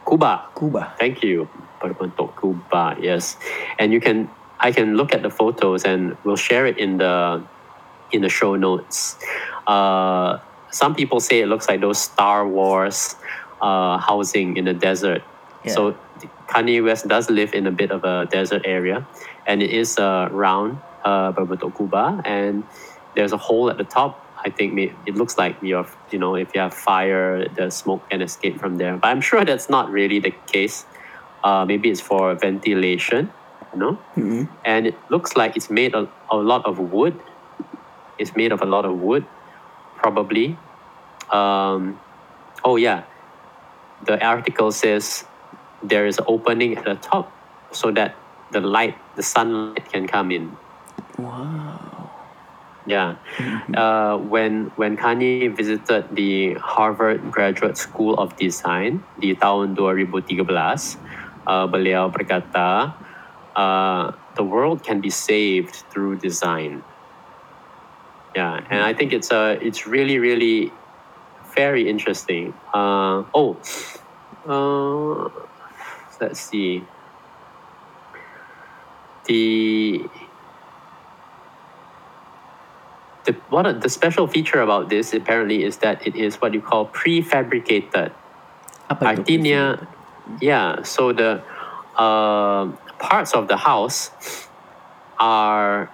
Kuba. Kuba. Thank you. Berbentuk Kuba. Yes, and you can. I can look at the photos and we'll share it in the in the show notes. Uh, some people say it looks like those Star Wars uh, housing in the desert. Yeah. So Kanye West does live in a bit of a desert area, and it is uh, round, uh, Berbentuk Kuba, and there's a hole at the top. I think may- it looks like you're, you know, if you have fire, the smoke can escape from there. But I'm sure that's not really the case. Uh, maybe it's for ventilation, you know. Mm-hmm. And it looks like it's made of a lot of wood. It's made of a lot of wood, probably. Um, oh yeah, the article says there is an opening at the top so that the light, the sunlight can come in. Wow. Yeah. Uh, when when Kanye visited the Harvard Graduate School of Design di tahun dua ribu tiga belas, uh, beliau berkata, uh, the world can be saved through design. Yeah, and I think it's uh, it's really really very interesting. Uh, oh, uh, let's see. The The, what a, the special feature about this apparently is that it is what you call prefabricated. Apa itu? Artinya, yeah. So the uh, parts of the house are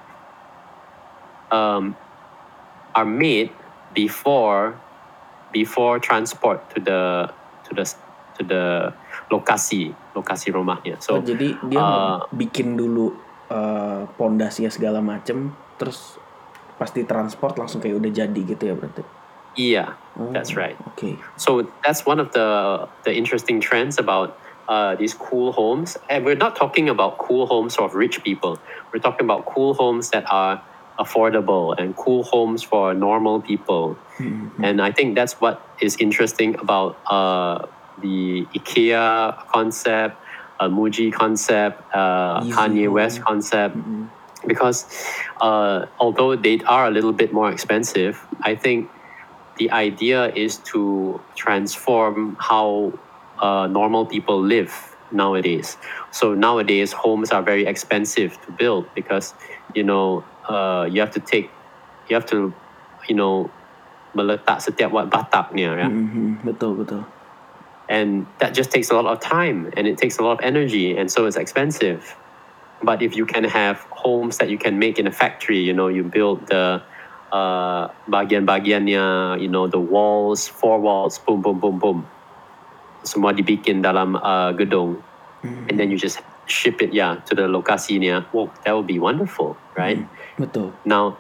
um, are made before before transport to the to the to the lokasi lokasi rumahnya. So Oh, jadi dia uh, bikin dulu uh, pondasinya segala macem, terus pasti transport langsung kayak udah jadi gitu ya berarti. yeah, Oh, that's right. Okay. So that's one of the the interesting trends about uh, these cool homes. And we're not talking about cool homes of rich people. We're talking about cool homes that are affordable and cool homes for normal people. Mm-hmm. And I think that's what is interesting about uh, the IKEA concept, uh, Muji concept, uh, Easy Kanye home. West concept. Mm-hmm. Because uh, although they are a little bit more expensive, I think the idea is to transform how uh, normal people live nowadays. So nowadays, homes are very expensive to build because, you know, uh, you have to take, you have to, you know, meletak setiap wat bataknya, ya. Mm-hmm. Betul betul. And that just takes a lot of time and it takes a lot of energy, and so it's expensive. But if you can have homes that you can make in a factory, you know, you build the uh, bagian-bagiannya, you know, the walls, four walls, boom, boom, boom, boom. Semua dibikin dalam uh, gedung. Mm-hmm. And then you just ship it, yeah, to the lokasinya. Well, that would be wonderful, right? Mm-hmm. Betul. Now,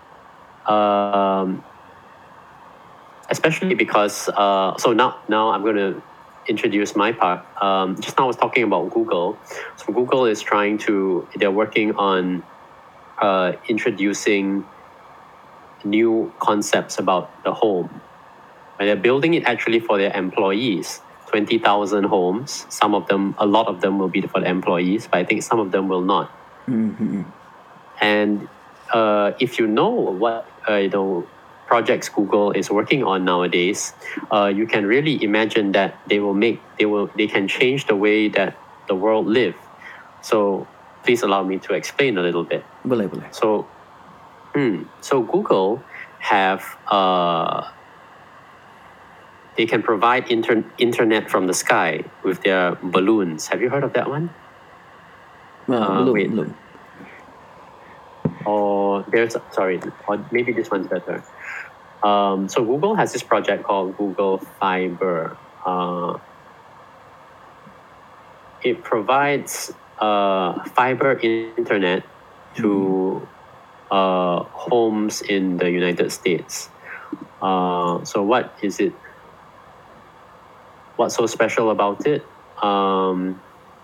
um, especially because, uh, so now, now I'm going to introduce my part. Um, just now I was talking about Google. So Google is trying to, they're working on uh, introducing new concepts about the home. And they're building it actually for their employees. twenty thousand homes. Some of them, a lot of them will be for the employees, but I think some of them will not. Mm-hmm. And uh, if you know what, uh, you know, projects Google is working on nowadays, uh, you can really imagine that they will make, they will, they can change the way that the world live. So please allow me to explain a little bit. Boleh boleh. So, hmm, so Google have, uh, they can provide inter- internet from the sky with their balloons. Have you heard of that one? Nah, Uh, belum wait. belum. Or there's, sorry, or maybe this one's better. Um, so Google has this project called Google Fiber. Uh, it provides uh, fiber internet to uh, homes in the United States. Uh, so what is it? What's so special about it? Um,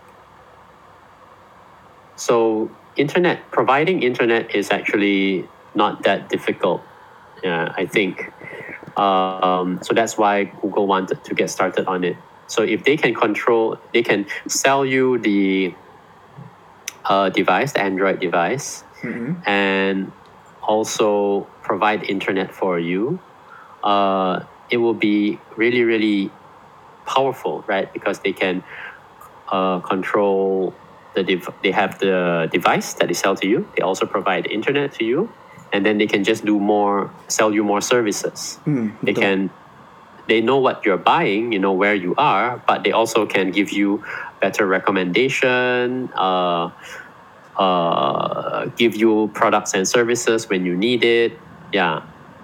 so internet, providing internet is actually not that difficult. Yeah, I think. Um, so that's why Google wanted to get started on it. So if they can control, they can sell you the uh, device, the Android device, Mm-hmm. and also provide internet for you. Uh, it will be really, really powerful, right? Because they can uh, control the dev- they have the device that they sell to you. They also provide the internet to you, and then they can just do more, sell you more services. Hmm, they betul. can, they know what you're buying, you know where you are, but they also can give you better recommendation, uh, uh, give you products and services when you need it. Yeah.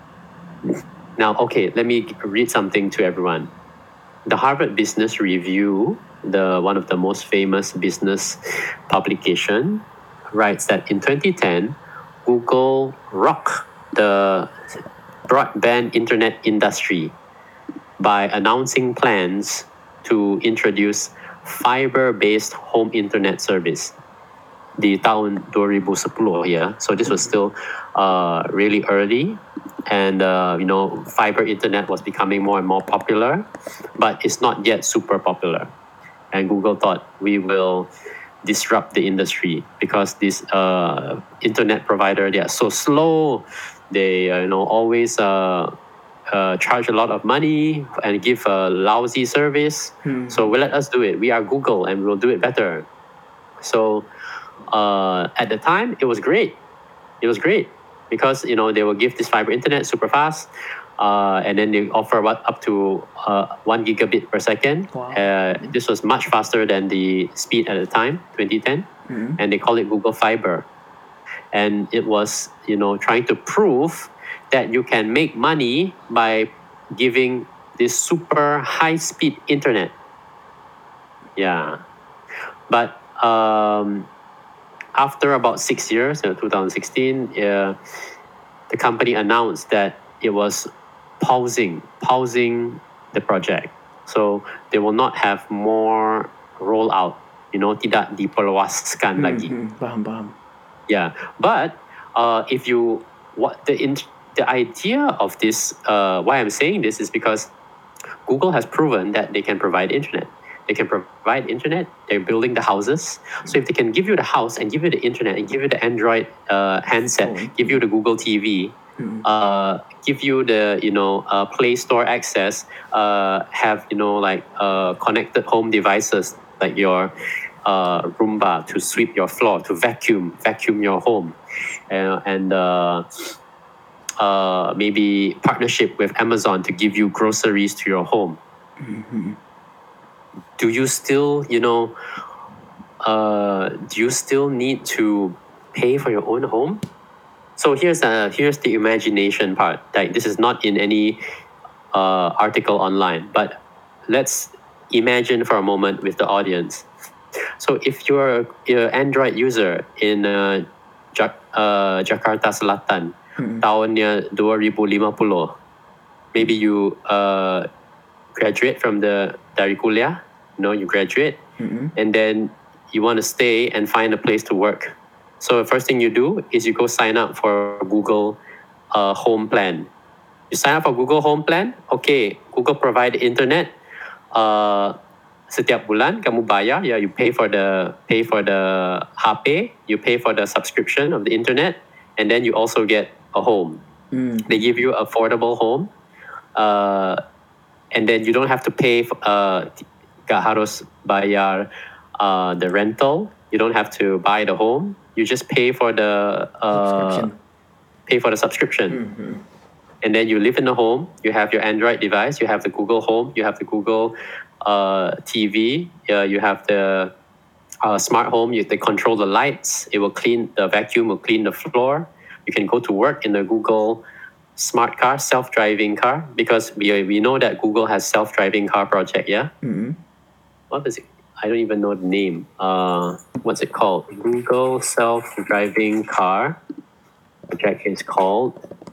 Now, okay, let me read something to everyone. The Harvard Business Review, the one of the most famous business publication, writes that in twenty ten, Google rocked the broadband internet industry by announcing plans to introduce fiber-based home internet service di tahun twenty ten ya. So this was still uh, really early, and uh, you know fiber internet was becoming more and more popular, but it's not yet super popular. And Google thought, we will disrupt the industry because this uh, internet provider, they are so slow. They uh, you know always uh, uh, charge a lot of money and give a lousy service. Hmm. So well, let us do it. We are Google and we'll do it better. So uh, at the time, it was great. It was great because you know they will give this fiber internet super fast, uh, and then they offer what up to uh, one gigabit per second. Wow. Uh, this was much faster than the speed at the time, twenty ten, Hmm. and they call it Google Fiber. And it was you know trying to prove that you can make money by giving this super high speed internet. Yeah, but um, after about six years, in twenty sixteen, uh, the company announced that it was pausing, pausing the project. So they will not have more rollout, you know, tidak diperluaskan Hmm, lagi. hmm, paham paham. Yeah, but uh, if you what the in, the idea of this, uh, why I'm saying this is because Google has proven that they can provide internet. They can provide internet. They're building the houses. So if they can give you the house and give you the internet and give you the Android uh, handset, Oh. give you the Google T V, Hmm. uh, give you the you know uh, Play Store access, uh, have you know like uh, connected home devices like your uh, Roomba to sweep your floor, to vacuum vacuum your home, uh, and. Uh, uh, maybe partnership with Amazon to give you groceries to your home. Hmm. Do you still, you know, uh, do you still need to pay for your own home? So here's uh, here's the imagination part. Like this is not in any uh, article online, but let's imagine for a moment with the audience. So if you're an Android user in uh, Jak- uh, Jakarta Selatan, Hmm. tahunnya twenty fifty, maybe you uh, graduate from the dari kuliah, you know, you graduate, Hmm. and then you want to stay and find a place to work. So the first thing you do is you go sign up for Google uh, Home Plan. You sign up for Google Home Plan, okay, Google provide internet. Uh, setiap bulan kamu bayar, yeah, you pay for the pay for the H P, you pay for the subscription of the internet, and then you also get a home. Hmm. They give you affordable home, uh, and then you don't have to pay. Uh, gak harus bayar uh, the rental. You don't have to buy the home. You just pay for the uh, Subscription. pay for the subscription. Hmm. And then you live in the home, you have your Android device, you have the Google Home, you have the Google uh, T V, uh, you have the uh, smart home, you, they control the lights, it will clean, the vacuum will clean the floor. You can go to work in the Google smart car, self-driving car, because we, we know that Google has self-driving car project, yeah? Hmm. What is it? I don't even know the name. Uh, what's it called? Google self-driving car project is called...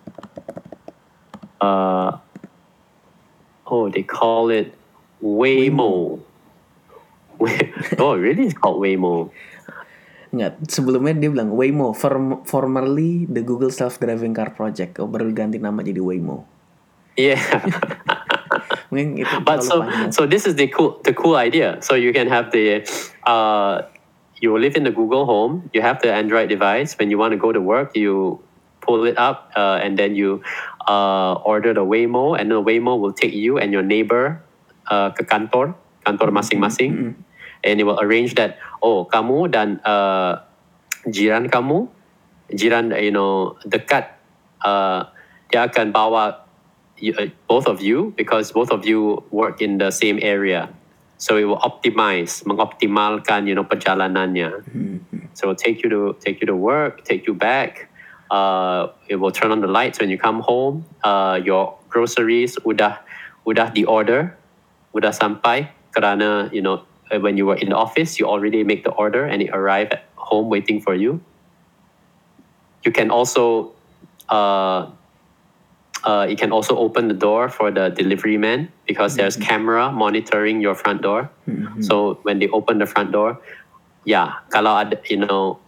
Uh, oh, they call it Waymo. Oh, really? It's called Waymo. Enggak, sebelumnya dia bilang Waymo, form- formerly the Google Self-Driving Car Project. Oh, baru ganti nama jadi Waymo. Yeah. Mungkin itu But terlalu so, panjang. so this is the cool, the cool idea. So you can have the, uh, you live in the Google Home. You have the Android device. When you want to go to work, you pull it up, uh, and then you uh, order the Waymo, and the Waymo will take you and your neighbor uh, ke kantor, kantor masing-masing, Mm-mm. and it will arrange that. Oh, kamu dan uh, jiran kamu, jiran you know dekat, uh, dia akan bawa you, uh, both of you because both of you work in the same area. So it will optimize, mengoptimalkan you know perjalanannya. Mm-hmm. So it will take you to take you to work, take you back. Uh, it will turn on the lights when you come home. Uh, your groceries udah udah di order, udah sampai kerana you know uh, when you were in the office you already make the order and it arrived at home waiting for you. You can also uh, uh, you can also open the door for the delivery man because there's camera monitoring your front door. Mm-hmm. So when they open the front door, yeah, kalau ada, you know,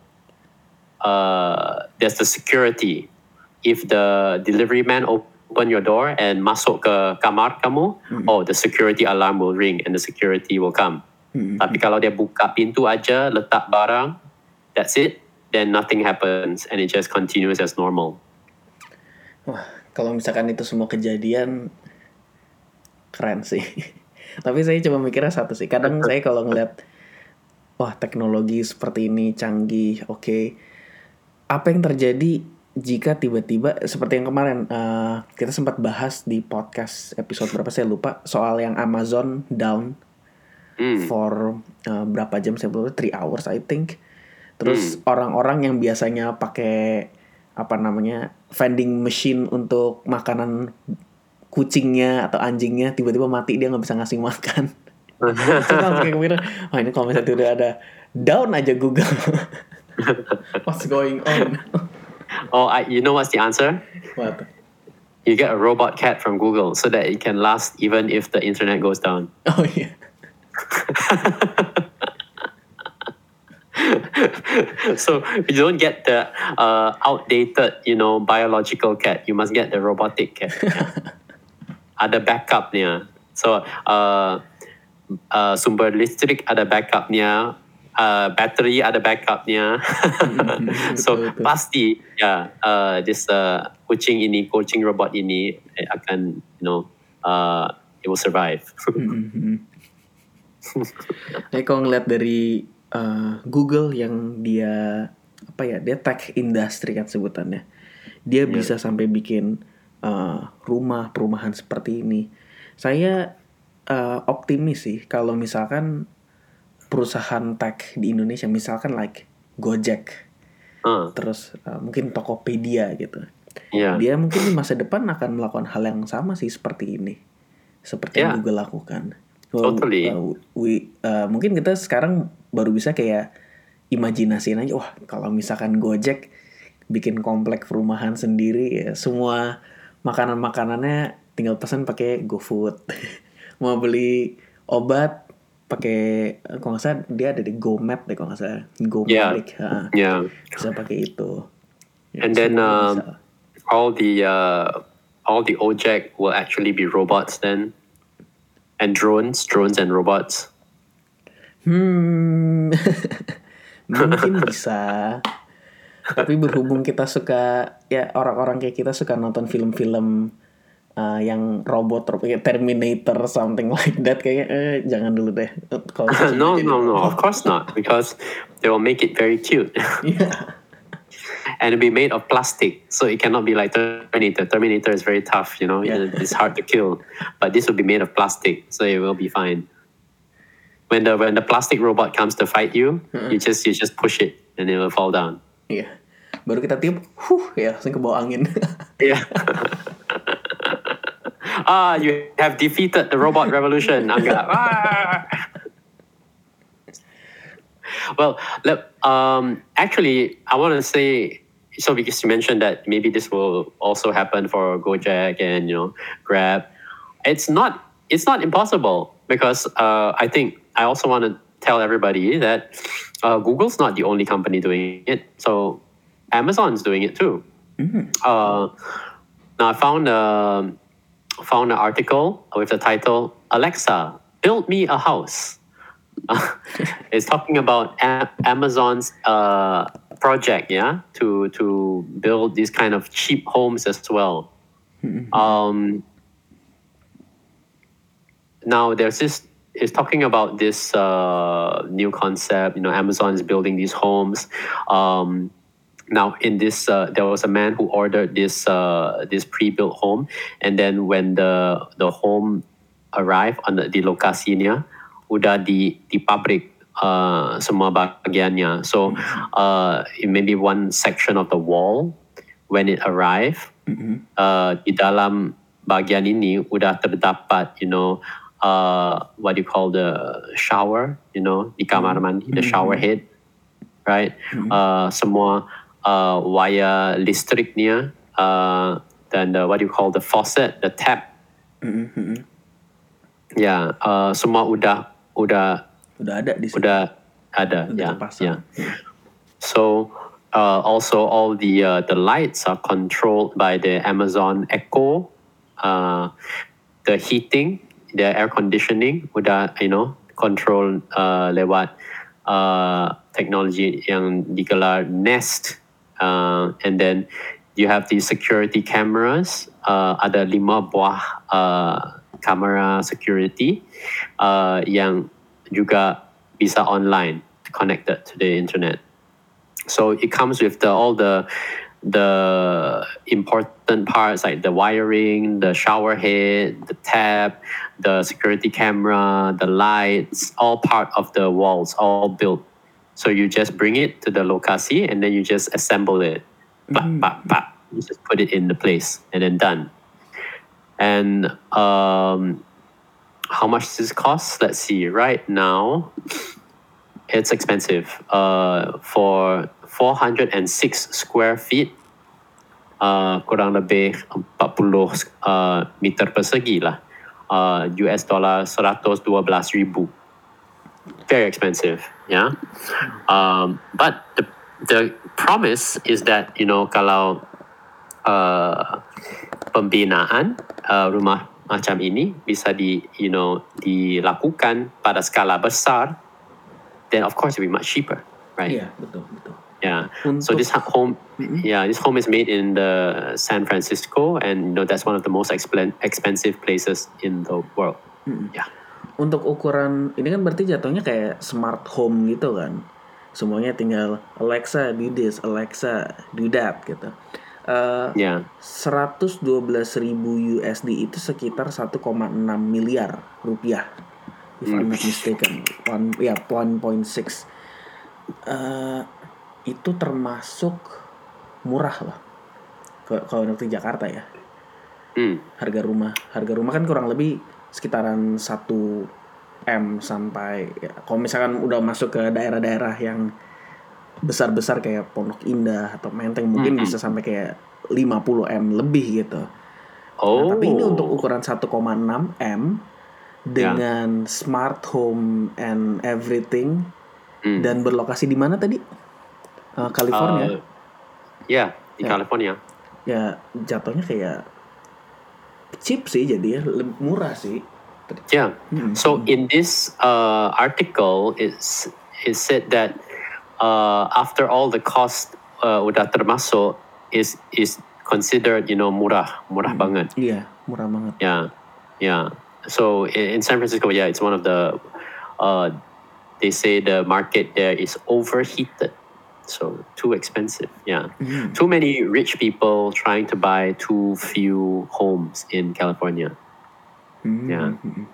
uh, there's the security. If the delivery man open your door and masuk ke kamar kamu, Mm-hmm. oh, the security alarm will ring and the security will come. Mm-hmm. Tapi kalau dia buka pintu aja, letak barang, that's it, then nothing happens and it just continues as normal. Wah, kalau misalkan itu semua kejadian, keren sih. Tapi saya coba mikirnya satu sih. Kadang saya kalau ngeliat, wah teknologi seperti ini canggih, oke. Okay. Apa yang terjadi jika tiba-tiba seperti yang kemarin uh, kita sempat bahas di podcast episode berapa saya lupa soal yang Amazon down Mm. for uh, berapa jam saya lupa, three hours I think. Terus orang-orang yang biasanya pakai apa namanya vending machine untuk makanan kucingnya atau anjingnya tiba-tiba mati, dia nggak bisa ngasih makan. Terus langsung kayak kepikiran, wah ini kalau misalnya udah ada down aja Google. What's going on? Oh, I, you know what's the answer? What? You get a robot cat from Google so that it can last even if the internet goes down. Oh iya. So you don't get the uh, outdated, you know, biological cat. You must get the robotic cat. Ada backupnya. So uh, uh, sumber listrik ada backupnya. Uh, battery ada backupnya. So Betul, betul. pasti ya yeah, uh, this uh, kucing ini, kucing robot ini eh, akan you know uh, it will survive. Nah, kalau ngeliat dari uh, Google yang dia apa ya, dia tech industry kan sebutannya, dia Yeah. bisa sampai bikin uh, rumah perumahan seperti ini. Saya uh, optimis sih kalau misalkan perusahaan tech di Indonesia, misalkan like Gojek, Uh, terus uh, mungkin Tokopedia gitu, yeah. dia mungkin di masa depan akan melakukan hal yang sama sih seperti ini, seperti yang Yeah. Google lakukan. Totally. Uh, we, uh, mungkin kita sekarang baru bisa kayak imajinasiin aja, wah kalau misalkan Gojek bikin komplek perumahan sendiri ya, semua makanan-makanannya tinggal pesan pakai GoFood. Mau beli obat pakai, kalau nggak salah dia ada di GoMap deh kalau nggak salah, Yeah. GoMedic, ha, Yeah. bisa pakai itu. Ya, And then semuanya um, bisa. all the uh, all the Ojek will actually be robots then, and drones, drones and robots. Hmm, mungkin bisa. Tapi berhubung kita suka, ya orang-orang kayak kita suka nonton film-film uh, yang robot, kayak Terminator, something like that, kayaknya eh, jangan dulu deh. Kalau No, no, no. Of course not, because they will make it very cute, Iya. and it'll be made of plastic, so it cannot be like Terminator. Terminator is very tough, you know. Yeah. It's hard to kill, but this will be made of plastic, so it will be fine. When the when the plastic robot comes to fight you, you just you just push it and it will fall down. Iya. Baru kita tiup, huh, ya langsung ke bawah angin. Yeah. Ah, you have defeated the robot revolution, Angga. Ah! Well, look, um, actually, I want to say, so because you mentioned that maybe this will also happen for Gojek and you know Grab, it's not it's not impossible because uh, I think I also want to tell everybody that uh, Google's not the only company doing it. So Amazon's doing it too. Uh, now I found a found an article with the title "Alexa, build me a house." It's talking about a- Amazon's uh, project, yeah, to to build these kind of cheap homes as well. Um, now there's this. It's talking about this uh, new concept. You know, Amazon is building these homes. Um, now, in this, uh, there was a man who ordered this uh, this pre-built home, and then when the the home arrived on the, di lokasinya, udah di di pabrik uh, semua bagiannya. So, uh, maybe one section of the wall when it arrived, mm-hmm. uh, di dalam bagian ini udah terdapat, you know. Uh, what do you call the shower, you know, di kamar mandi, the shower head, right? Mm-hmm. Uh, semua uh, wire listriknya, uh, dan the, what do you call the faucet, the tap. Mm-hmm. Ya, yeah, uh, semua udah udah udah ada di sini. Udah ada, ya. Yeah, yeah. So uh, also all the uh, the lights are controlled by the Amazon Echo. Uh, the heating, the air conditioning udah, you know, control uh, lewat uh, teknologi yang digelar Nest, uh, and then you have the security cameras. Uh, ada lima buah uh, kamera security uh, yang juga bisa online, connected to the internet. So it comes with the, all the the important parts like the wiring, the shower head, the tap, the security camera, the lights, all part of the walls, all built. So you just bring it to the lokasi and then you just assemble it. Mm-hmm. Bah, bah, bah. You just put it in the place and then done. And um, how much does this cost? Let's see. Right now, it's expensive. Uh, for four hundred six square feet, uh, kurang lebih empat puluh uh, meter persegi lah. Uh, U S dollar seratus dua belas ribu. Very expensive, yeah. Um, but the the promise is that, you know, kalau uh, pembinaan uh, rumah macam ini bisa di, you know, dilakukan pada skala besar, then of course it will be much cheaper, right? Yeah, betul, betul. Yeah. Untuk, so this home, mm-hmm. yeah, this home is made in the San Francisco, and you know that's one of the most expen- expensive places in the world. Mm-hmm. Yeah. Untuk ukuran ini kan berarti jatuhnya kayak smart home gitu kan, semuanya tinggal Alexa do this, Alexa do that gitu. Uh, yeah. seratus dua belas ribu U S D itu sekitar satu koma enam miliar rupiah, if mm. I'm not mistaken. One, ya, yeah, one point six. Uh, itu termasuk murah lah kalau untuk di Jakarta ya. Mm. Harga rumah, harga rumah kan kurang lebih sekitaran satu M sampai ya, kalau misalkan udah masuk ke daerah-daerah yang besar-besar kayak Pondok Indah atau Menteng mungkin mm-hmm. bisa sampai kayak lima puluh M lebih gitu. Oh. Nah, tapi ini untuk ukuran satu koma enam M dengan yeah. smart home and everything mm. dan berlokasi di mana tadi? Uh, California. Uh, ya, yeah, di ya. California. Ya, jatuhnya kayak cheap sih jadi ya, murah sih. Yeah. Mm-hmm. So in this uh, article, it's it said that uh, after all the cost uh, udah termasuk is is considered, you know, murah, murah mm-hmm. banget. Iya, yeah, murah banget. Yeah, yeah. So in, in San Francisco, yeah, it's one of the. Uh, they say the market there is overheated. So too expensive, yeah. Mm. Too many rich people trying to buy too few homes in California. Mm. Yeah.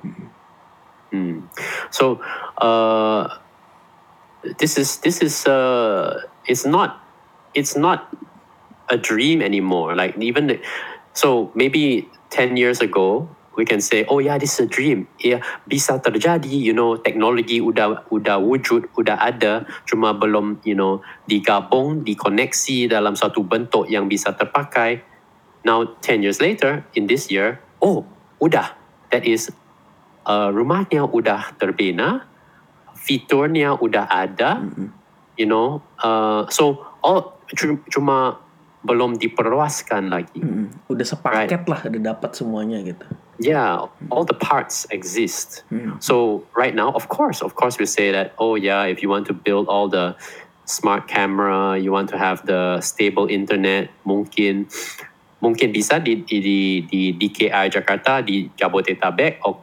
Mm. So uh, this is this is uh, it's not it's not a dream anymore. Like even the, so maybe ten years ago we can say, oh yeah, this is a dream. Yeah, bisa terjadi, you know, teknologi udah udah wujud, udah ada, cuma belum, you know, digabung, dikoneksi dalam satu bentuk yang bisa terpakai. Now ten years later, in this year, oh, udah. That is, uh, rumahnya udah terbina, fiturnya udah ada, mm-hmm. you know, uh, so all cuma belum diperluaskan lagi. Mm-hmm. Udah sepaket right? lah, udah dapat semuanya gitu. Yeah, all the parts exist. Mm. So right now, of course, of course, we say that, oh yeah, if you want to build all the smart camera, you want to have the stable internet, mungkin mungkin bisa di di di D K I Jakarta, di Jabodetabek, okay.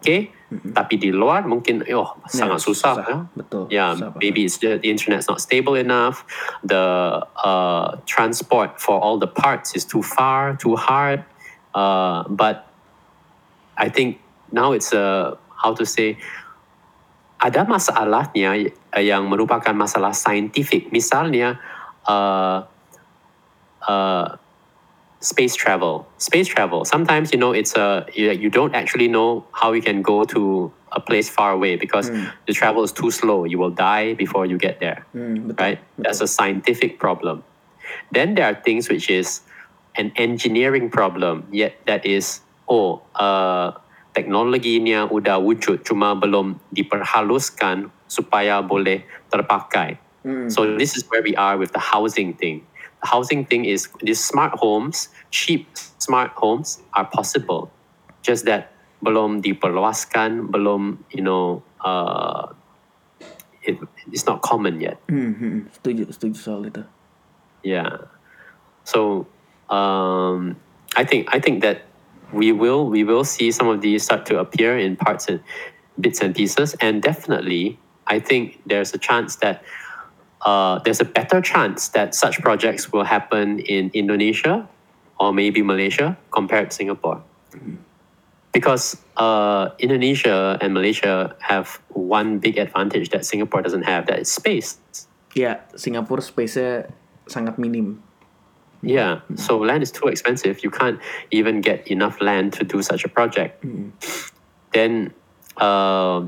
Tapi di luar mungkin oh sangat susah, susah. ya. Betul. Yeah, susah banget. maybe it's the, the internet's not stable enough. The uh, transport for all the parts is too far, too hard. Uh, but I think now it's a how to say ada masalahnya yang merupakan masalah saintifik. Misalnya uh, uh, space travel. Space travel. Sometimes you know it's a you, you don't actually know how you can go to a place far away because Hmm. the travel is too slow. You will die before you get there. Hmm, betul, Right? That's a scientific problem. Then there are things which is an engineering problem. Yet that is oh uh, teknologinya udah wujud cuma belum diperhaluskan supaya boleh terpakai. Hmm. So this is where we are with the housing thing. The housing thing is these smart homes, cheap smart homes are possible. Just that belum diperluaskan, belum you know uh, it, it's not common yet. Hmm, hmm, setuju, setuju soal itu. Yeah. So um, I think I think that we will we will see some of these start to appear in parts and bits and pieces, and definitely I think there's a chance that uh, there's a better chance that such projects will happen in Indonesia or maybe Malaysia compared to Singapore. Because uh, Indonesia and Malaysia have one big advantage that Singapore doesn't have, that is space. Ya, Singapura space-nya sangat minim. Yeah, so land is too expensive. You can't even get enough land to do such a project. Then uh,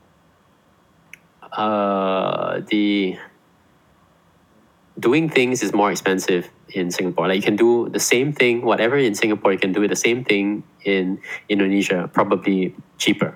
uh, the doing things is more expensive in Singapore. Like you can do the same thing, whatever in Singapore, you can do the same thing in Indonesia, probably cheaper.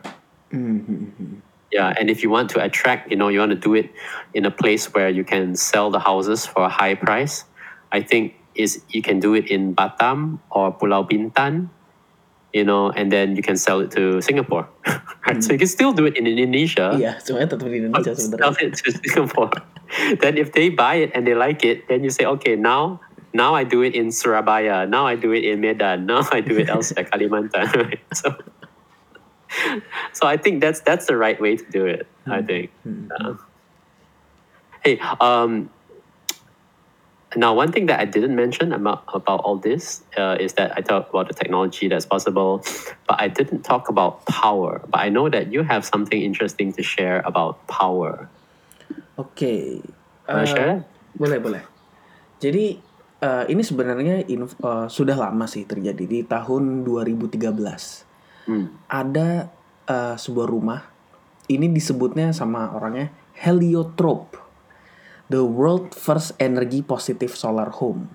Yeah, and if you want to attract, you know, you want to do it in a place where you can sell the houses for a high price, I think is you can do it in Batam or Pulau Bintan, you know, and then you can sell it to Singapore. Right? So you can still do it in Indonesia. Iya, semuanya tetap di but Indonesia sell sebenarnya. it to Singapore. Then if they buy it and they like it, then you say, okay, now now I do it in Surabaya, now I do it in Medan, now I do it elsewhere, Kalimantan. Right? So, so I think that's that's the right way to do it. I think. Uh, hey, um, now one thing that I didn't mention about about all this uh, is that I talked about the technology that's possible, but I didn't talk about power. But I know that you have something interesting to share about power. Oke. Wanna Eh, share? boleh, boleh. Jadi eh, ini sebenarnya inf- eh, sudah lama sih terjadi di tahun dua ribu tiga belas. Hmm. Ada eh, sebuah rumah. Ini disebutnya sama orangnya Heliotrope. The world first energy positive solar home.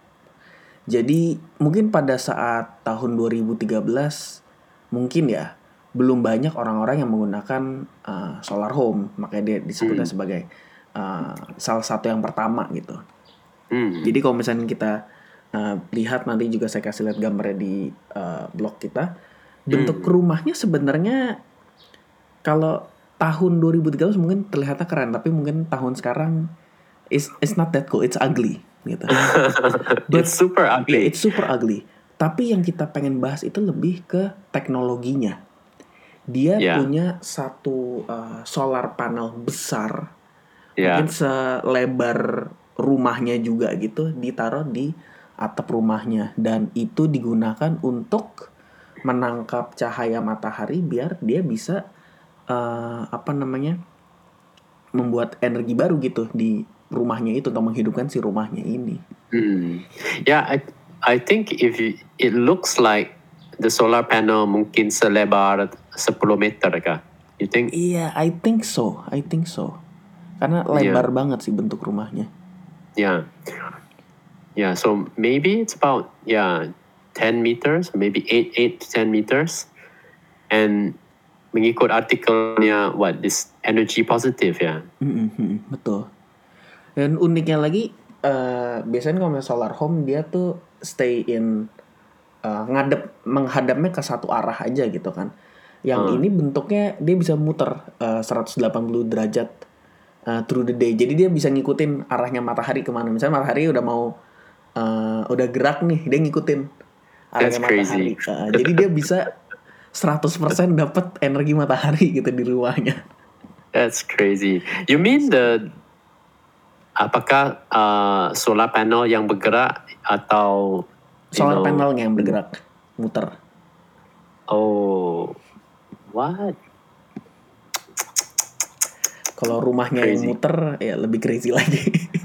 Jadi mungkin pada saat tahun dua ribu tiga belas mungkin ya belum banyak orang-orang yang menggunakan uh, solar home, makanya dia disebutnya Hmm. sebagai uh, salah satu yang pertama gitu. Hmm. Jadi kalau misalnya kita uh, lihat nanti juga saya kasih lihat gambarnya di uh, blog kita, bentuk rumahnya sebenarnya kalau tahun dua ribu tiga belas mungkin terlihatnya keren, tapi mungkin tahun sekarang it's it's not that cool, it's ugly gitu. But- It's super Yeah, ugly. it's super ugly. Tapi yang kita pengen bahas itu lebih ke teknologinya. Dia Yeah. punya satu uh, solar panel besar, Yeah. mungkin selebar rumahnya juga gitu, ditaruh di atap rumahnya, dan itu digunakan untuk menangkap cahaya matahari biar dia bisa uh, apa namanya membuat energi baru gitu di rumahnya itu untuk menghidupkan si rumahnya ini. Hmm. Yeah, I I think if you, it looks like the solar panel mungkin selebar sepuluh meter kah? You think? Iya, I think so, I think so. Karena lebar banget sih bentuk rumahnya. Yeah. Yeah, so maybe it's about yeah ten meters, maybe eight eight to ten meters. And mengikut artikelnya what this energy positive ya. Mm-mm, betul. Dan uniknya lagi, uh, biasanya kalau misalnya solar home dia tuh stay in uh, ngadep menghadapnya ke satu arah aja gitu kan. Yang Hmm. ini bentuknya dia bisa muter uh, seratus delapan puluh derajat uh, through the day. Jadi dia bisa ngikutin arahnya matahari kemana. Misalnya matahari udah mau uh, udah gerak nih, dia ngikutin arahnya That's crazy. matahari. Uh, jadi dia bisa seratus persen dapat energi matahari gitu di rumahnya. That's crazy. You mean the apakah uh, solar panel yang bergerak atau you Solar know, panelnya yang bergerak, muter. Oh, what? Kalau rumahnya yang Crazy. muter ya lebih crazy lagi.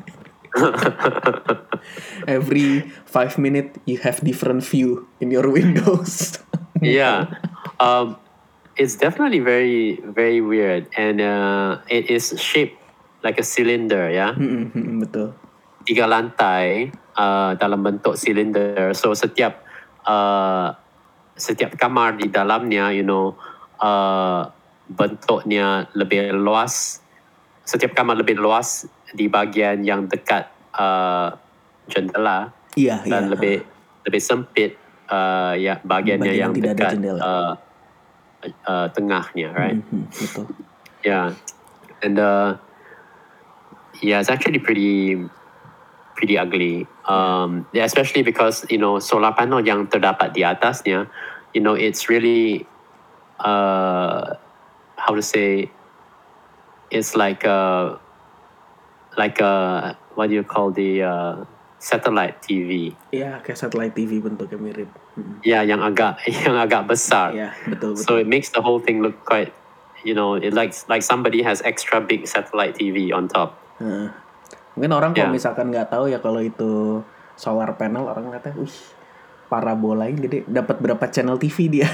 Every five minutes you have different view in your windows. Yeah, um, it's definitely very very weird, and uh, it is shaped like a cylinder, ya. Mm-mm, mm-mm, betul. Tiga lantai uh, dalam bentuk cylinder. So setiap uh, setiap kamar di dalamnya, you know, uh, bentuknya lebih luas. Setiap kamar lebih luas di bahagian yang dekat uh, jendela, Iya, dan iya. lebih lebih sempit uh, ya bahagiannya Bagian yang yang tidak ada dekat jendela. uh, uh, tengahnya, right? Mhm, betul. Yeah, and uh, yeah, it's actually pretty pretty ugly. Um, yeah, especially because you know solar panel yang terdapat di atasnya, you know, it's really uh, how to say, it's like a like a what do you call the uh, satellite T V? Iya, kayak satellite T V bentuknya mirip. Mhm. Ya, yang agak yang agak besar. Iya, betul betul. So it makes the whole thing look quite, you know, it like like somebody has extra big satellite T V on top. Heeh. Mungkin orang kalau Yeah. misalkan nggak tahu ya kalau itu solar panel, orang katanya, wih, parabola ini gede, dapat berapa channel T V dia?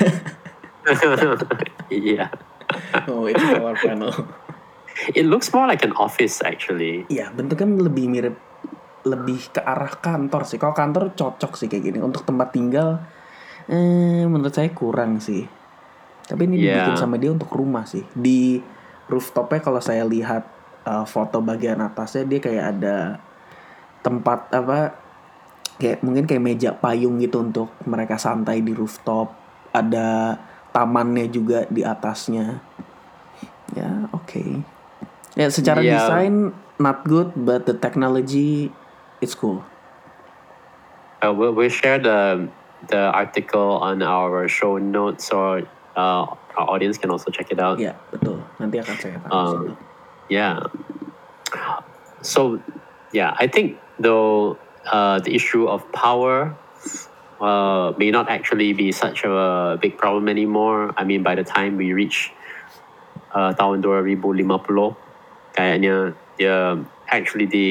Yeah. Oh, itu solar panel. It looks more like an office actually. Iya, bentuknya lebih mirip, lebih ke arah kantor sih. Kalau kantor cocok sih kayak gini. Untuk tempat tinggal, eh, menurut saya kurang sih. Tapi ini Yeah. dibikin sama dia untuk rumah sih. Di rooftopnya kalau saya lihat uh, foto bagian atasnya, dia kayak ada tempat apa, kayak mungkin kayak meja payung gitu untuk mereka santai di rooftop. Ada tamannya juga di atasnya. Ya, oke. Okay. Ya, secara Yeah. desain not good, but the technology it's cool. Uh, we'll, we'll share the the article on our show notes, or uh, our audience can also check it out. Ya, betul. Nanti akan saya taruh Um, situ. Yeah. So, yeah, I think though uh, the issue of power uh, may not actually be such a big problem anymore. I mean, by the time we reach uh, tahun dua ribu lima puluh, kayaknya dia actually the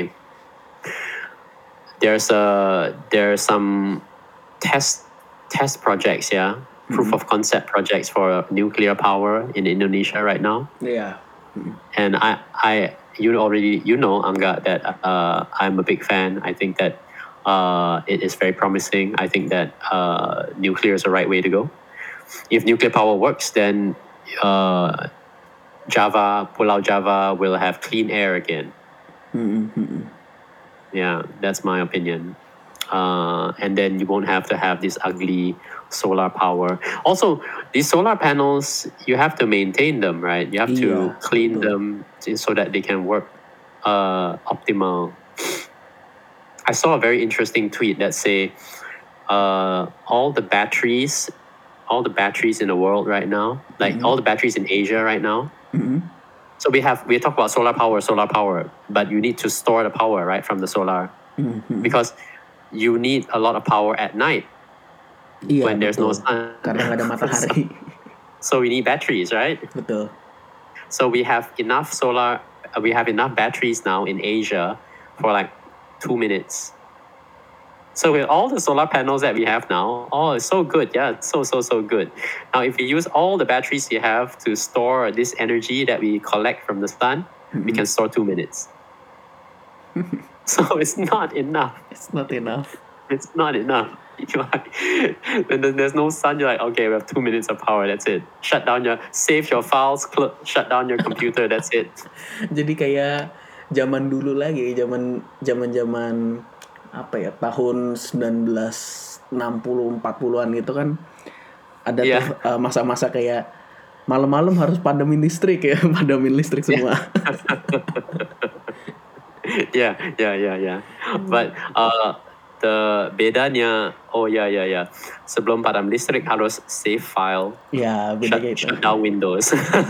there's a there's some test test projects, yeah, proof of concept projects for nuclear power in Indonesia right now. Iya. And I, I, you already, you know, Angga, that uh, I'm a big fan. I think that uh, it is very promising. I think that uh, nuclear is the right way to go. If nuclear power works, then uh, Java, Pulau Java will have clean air again. Mm-hmm. Yeah, that's my opinion. Uh, and then you won't have to have this ugly solar power. Also, these solar panels, you have to maintain them, right? You have to Yeah, clean betul. them so that they can work uh, optimal. I saw a very interesting tweet that say uh, all the batteries, all the batteries in the world right now, like all the batteries in Asia right now. Mm-hmm. So we have we talk about solar power, solar power, but you need to store the power, right, from the solar, Mm-hmm. because you need a lot of power at night Iya, when there's no betul. sun. Karena nggak ada matahari. So we need batteries, right? Betul. So we have enough solar, uh, we have enough batteries now in Asia for like two minutes. So with all the solar panels that we have now, oh, it's so good. Yeah, it's so, so, so good. Now, if we use all the batteries we have to store this energy that we collect from the sun, we can store two minutes. So it's not enough. It's not enough. It's not enough. You're like, when there- there's no sun, you're like, okay, we have two minutes of power. That's it. Shut down your, save your files, cl- shut down your computer. That's it. Jadi kayak zaman dulu lagi, zaman zaman zaman apa ya, tahun sembilan belas enam puluh empat puluhan gitu kan, ada Iya. tuh uh, masa-masa kayak malam-malam harus padamin listrik ya, padamin listrik semua. Yeah, yeah, yeah, yeah. But uh, the bedanya, oh ya ya ya, sebelum padam listrik harus save file, Ya, beda shut, kayak itu. shut down Windows.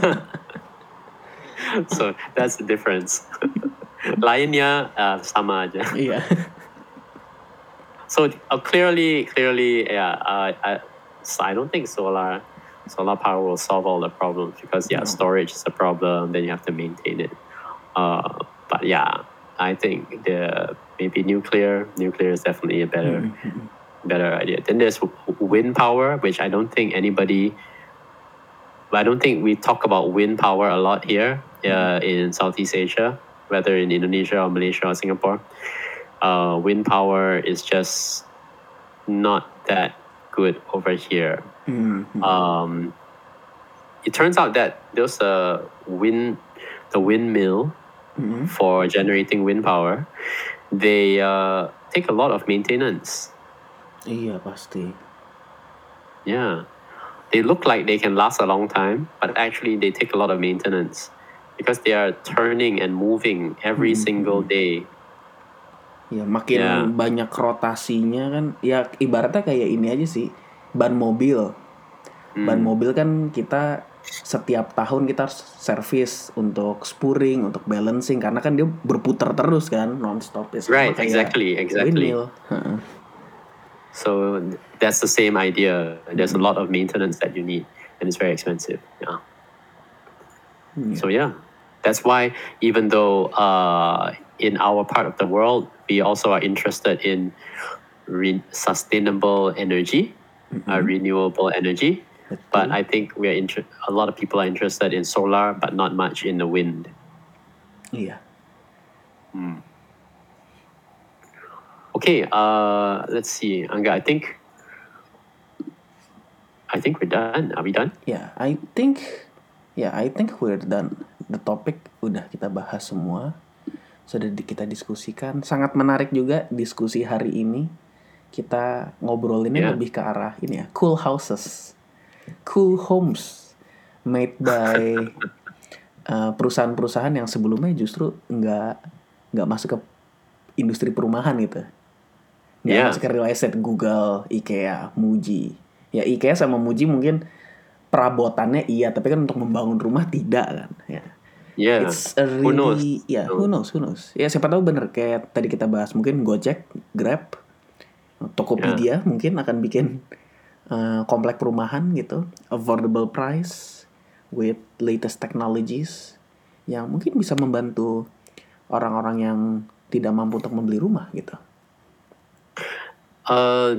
So that's the difference. Lainnya uh, sama aja. Iya. So uh, clearly, clearly, yeah, uh, I, so I don't think solar solar power will solve all the problems because yeah, No. storage is a problem. Then you have to maintain it. Uh, but yeah, I think the maybe nuclear. Nuclear is definitely a better better idea. Then there's w- wind power, which I don't think anybody. But I don't think we talk about wind power a lot here uh, in Southeast Asia, whether in Indonesia or Malaysia or Singapore. Uh, wind power is just not that good over here. Mhm. Um, it turns out that there's a wind, the windmill Mhm. for generating wind power. They uh, take a lot of maintenance. Iya pasti. Yeah, they look like they can last a long time, but actually they take a lot of maintenance because they are turning and moving every Mhm. single day. Ya makin Ya. banyak rotasinya kan, ya ibaratnya kayak ini aja sih, ban mobil. Ban Hmm. mobil kan kita setiap tahun kita harus servis untuk spuring, untuk balancing karena kan dia berputar terus kan, non-stop ya sama Right, kayak exactly, exactly. windmill. Heeh. So that's the same idea. There's a lot of maintenance that you need, and it's very expensive. Yeah. So yeah, that's why even though uh, in our part of the world we also are interested in re- sustainable energy, uh, renewable energy, but I think we are inter- a lot of people are interested in solar, but not much in the wind. Iya. Okay, uh, let's see, Angga. I think I think we're done. Are we done? Ya, I think ya I think we're done. The topic udah kita bahas semua. Sudah di- kita diskusikan. Sangat menarik juga diskusi hari ini. Kita ngobrolinnya Yeah. lebih ke arah ini ya, cool houses. Cool homes made by uh, perusahaan-perusahaan yang sebelumnya justru nggak nggak masuk ke industri perumahan gitu. Nggak Yeah. masuk ke real estate, Google, IKEA, Muji. Ya IKEA sama Muji mungkin perabotannya iya, tapi kan untuk membangun rumah tidak kan. Ya. Yeah. It's a Who knows? really, ya No. who knows, who knows. Ya siapa tahu bener kayak tadi kita bahas mungkin Gojek, Grab, Tokopedia mungkin akan bikin uh, komplek perumahan gitu, affordable price with latest technologies yang mungkin bisa membantu orang-orang yang tidak mampu untuk membeli rumah gitu. Uh,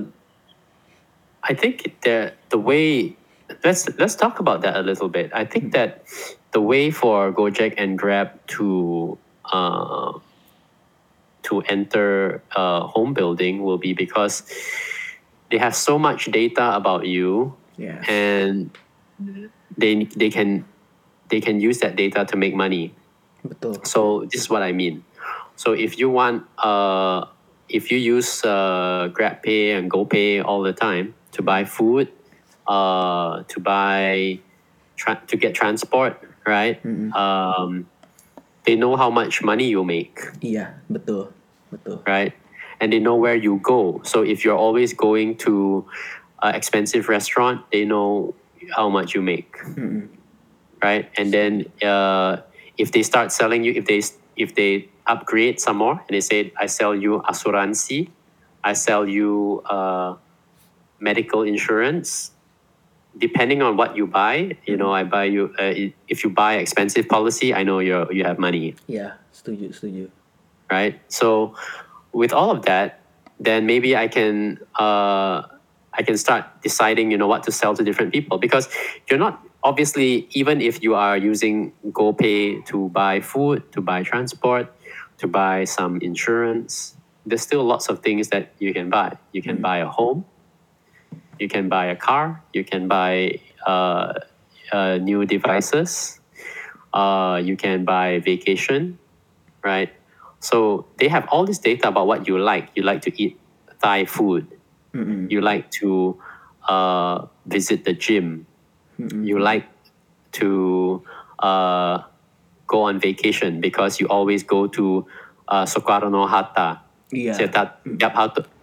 I think that the way let's let's talk about that a little bit. I think that the way for Gojek and Grab to uh, to enter uh, home building will be because they have so much data about you, Yes. and they they can they can use that data to make money. Betul. So this is what I mean. So if you want, uh, if you use uh, GrabPay and GoPay all the time to buy food, uh, to buy, tra- to get transport, right? Um, they know how much money you make, Iya, betul. Betul. right? And they know where you go. So if you're always going to an expensive restaurant, they know how much you make, right? And then uh, if they start selling you, if they if they upgrade some more, and they say, I sell you asuransi, I sell you uh, medical insurance. Depending on what you buy, you know, I buy you. Uh, if you buy expensive policy, I know you you have money. Iya, setuju, setuju. Right? So with all of that, then maybe I can uh, I can start deciding, you know, what to sell to different people, because you're not, obviously, even if you are using GoPay to buy food, to buy transport, to buy some insurance, there's still lots of things that you can buy. You can buy a home, you can buy a car, you can buy uh, uh, new devices, uh, you can buy vacation, right? So they have all this data about what you like. You like to eat Thai food. You like to uh, visit the gym. You like to uh, go on vacation because you always go to uh, Soekarno Hatta. Iya. Setiap, setiap,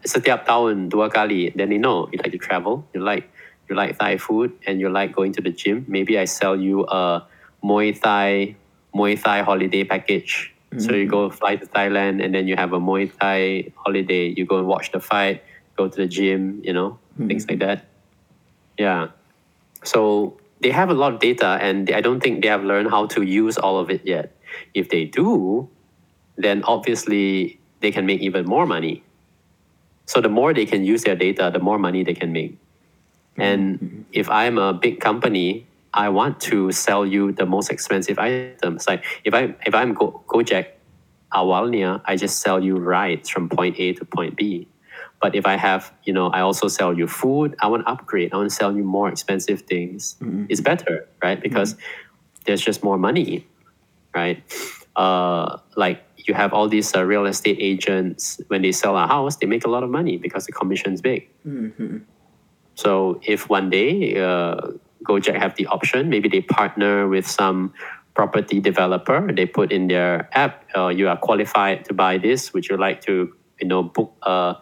setiap tahun dua kali. Then they know you like to travel, you like you like Thai food, and you like going to the gym. Maybe I sell you a Muay Thai Muay Thai holiday package. So you go fly to Thailand, and then you have a Muay Thai holiday. You go and watch the fight, go to the gym, you know, things like that. Yeah. So they have a lot of data, and I don't think they have learned how to use all of it yet. If they do, then obviously they can make even more money. So the more they can use their data, the more money they can make. And if I'm a big company, I want to sell you the most expensive items. Like if I if I'm Go, Gojek, awalnya I just sell you rides from point A to point B. But if I have, you know, I also sell you food. I want to upgrade. I want to sell you more expensive things. Mm-hmm. It's better, right? Because mm-hmm. there's just more money, right? Uh, like you have all these uh, real estate agents. When they sell a house, they make a lot of money because the commission's big. Mm-hmm. So if one day uh, Gojek have the option, maybe they partner with some property developer. They put in their app, uh, you are qualified to buy this. Would you like to, you know, book a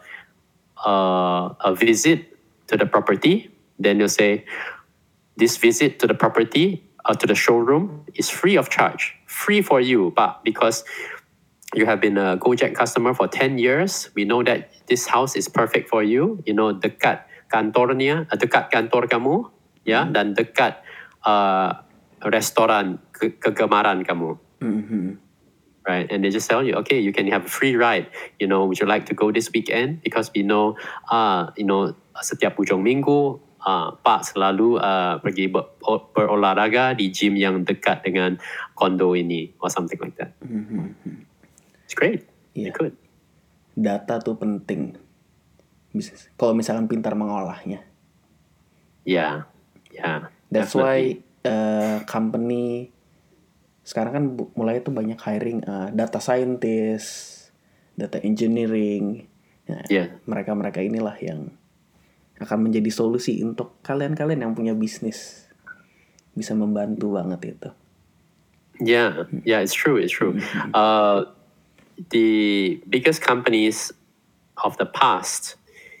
Uh, a visit to the property? Then you'll say, this visit to the property, uh, to the showroom is free of charge, free for you. But because you have been a Gojek customer for ten years, we know that this house is perfect for you. You know, dekat kantornya, uh, dekat kantor kamu, ya, mm-hmm. dan dekat uh, restoran ke- kegemaran kamu. Mm-hmm. Right, and they just tell you, okay, you can have a free ride. You know, would you like to go this weekend? Because we know, uh, you know, setiap ujung minggu, uh, Pak selalu uh, pergi ber- berolahraga di gym yang dekat dengan kondo ini, or something like that. Mm-hmm. It's great. Yeah. You could. Data tuh penting. Bisa, kalau misalkan pintar mengolahnya. Yeah, yeah. That's definitely. why uh, company sekarang kan mulai tuh banyak hiring uh, data scientist, data engineering. Nah, yeah. Mereka-mereka inilah yang akan menjadi solusi untuk kalian-kalian yang punya bisnis. Bisa membantu banget itu. Yeah, yeah, it's true, it's true. Mm-hmm. Uh, the biggest companies of the past,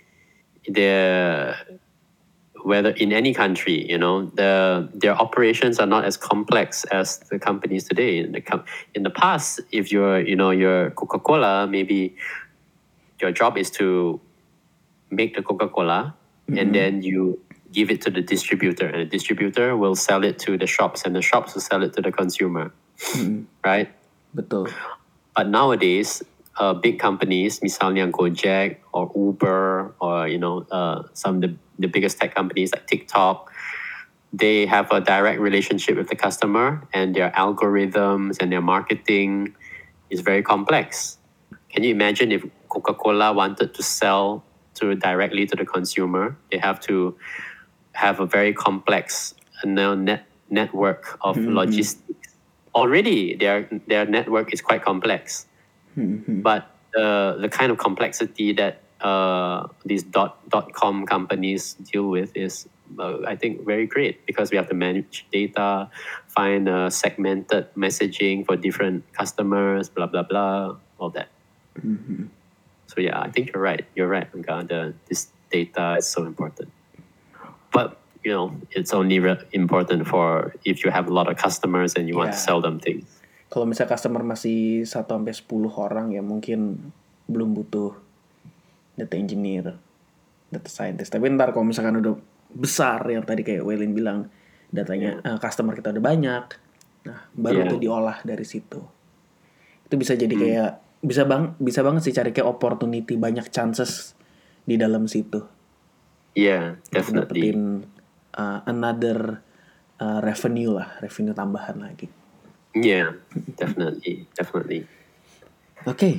they're whether in any country, you know, the their operations are not as complex as the companies today. In the com- in the past, if you're, you know, you're Coca-Cola, maybe your job is to make the Coca-Cola, mm-hmm. and then you give it to the distributor, and the distributor will sell it to the shops, and the shops will sell it to the consumer, mm-hmm. right? Betul. But nowadays, uh, big companies, misalnya Gojek or Uber, or you know, uh, some of the the biggest tech companies like TikTok, they have a direct relationship with the customer, and their algorithms and their marketing is very complex. Can you imagine if Coca-Cola wanted to sell to directly to the consumer? They have to have a very complex you know, net network of mm-hmm. logistics. Already, their their network is quite complex, mm-hmm. but uh, the kind of complexity that Uh, these dot dot com companies deal with is, uh, I think, very great, because we have to manage data, find uh, segmented messaging for different customers, blah blah blah, all that. Mm-hmm. So yeah, I think you're right. You're right, Angga. The this data is so important, but you know, it's only re- important for if you have a lot of customers and you yeah. want to sell them things. Kalau misalnya customer masih satu sampai sepuluh orang, ya mungkin belum butuh data engineer, data scientist. Tapi ntar kalau misalkan udah besar, yang tadi kayak Welin bilang, datanya yeah. uh, customer kita udah banyak, nah baru yeah. tuh diolah dari situ. Itu bisa jadi hmm. kayak bisa bang bisa banget sih cari kayak opportunity, banyak chances di dalam situ. Iya, yeah, definitely. Dapetin uh, another uh, revenue lah, revenue tambahan lagi. Yeah, definitely, definitely. Oke. Okay.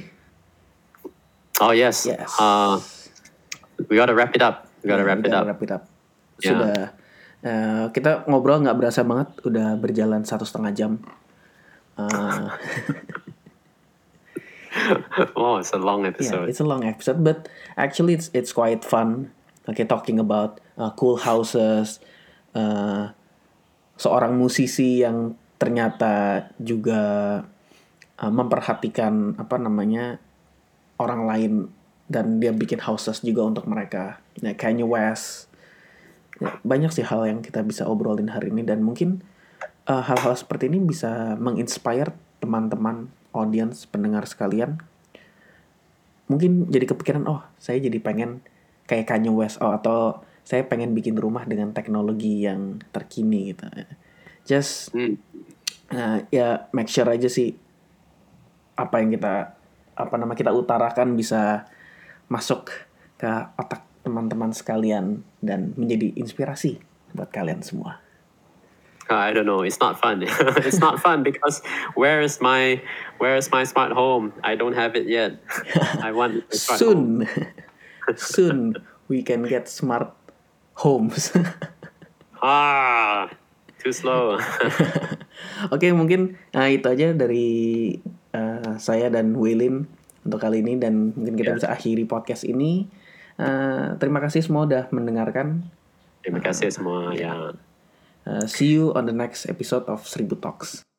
Oh yes. Yes. Uh, we gotta wrap it up. We gotta, yeah, wrap, we gotta it wrap it up. Sudah. Yeah. Uh, kita ngobrol nggak berasa banget. Udah berjalan satu setengah jam. Uh, oh, it's a long episode. Yeah, it's a long episode, but actually it's it's quite fun. Okay, talking about uh, cool houses. Uh, seorang musisi yang ternyata juga uh, memperhatikan apa namanya orang lain dan dia bikin houses juga untuk mereka. Ya, Kanye West. Ya, banyak sih hal yang kita bisa obrolin hari ini, dan mungkin uh, hal-hal seperti ini bisa menginspire teman-teman, audience, pendengar sekalian. Mungkin jadi kepikiran, oh saya jadi pengen kayak Kanye West, oh atau saya pengen bikin rumah dengan teknologi yang terkini gitu. Just Hmm. uh, ya make sure aja sih apa yang kita apa nama kita utarakan bisa masuk ke otak teman-teman sekalian dan menjadi inspirasi buat kalian semua. I don't know. It's not fun. It's not fun because where is my where is my smart home? I don't have it yet. I want a smart home. Soon, soon we can get smart homes. Ah, too slow. Oke, mungkin uh, itu aja dari uh, saya dan Waylin untuk kali ini, dan mungkin kita Yeah. bisa akhiri podcast ini. Uh, terima kasih semua udah mendengarkan. Terima kasih semua. Ya. Uh, see you on the next episode of Seribu Talks.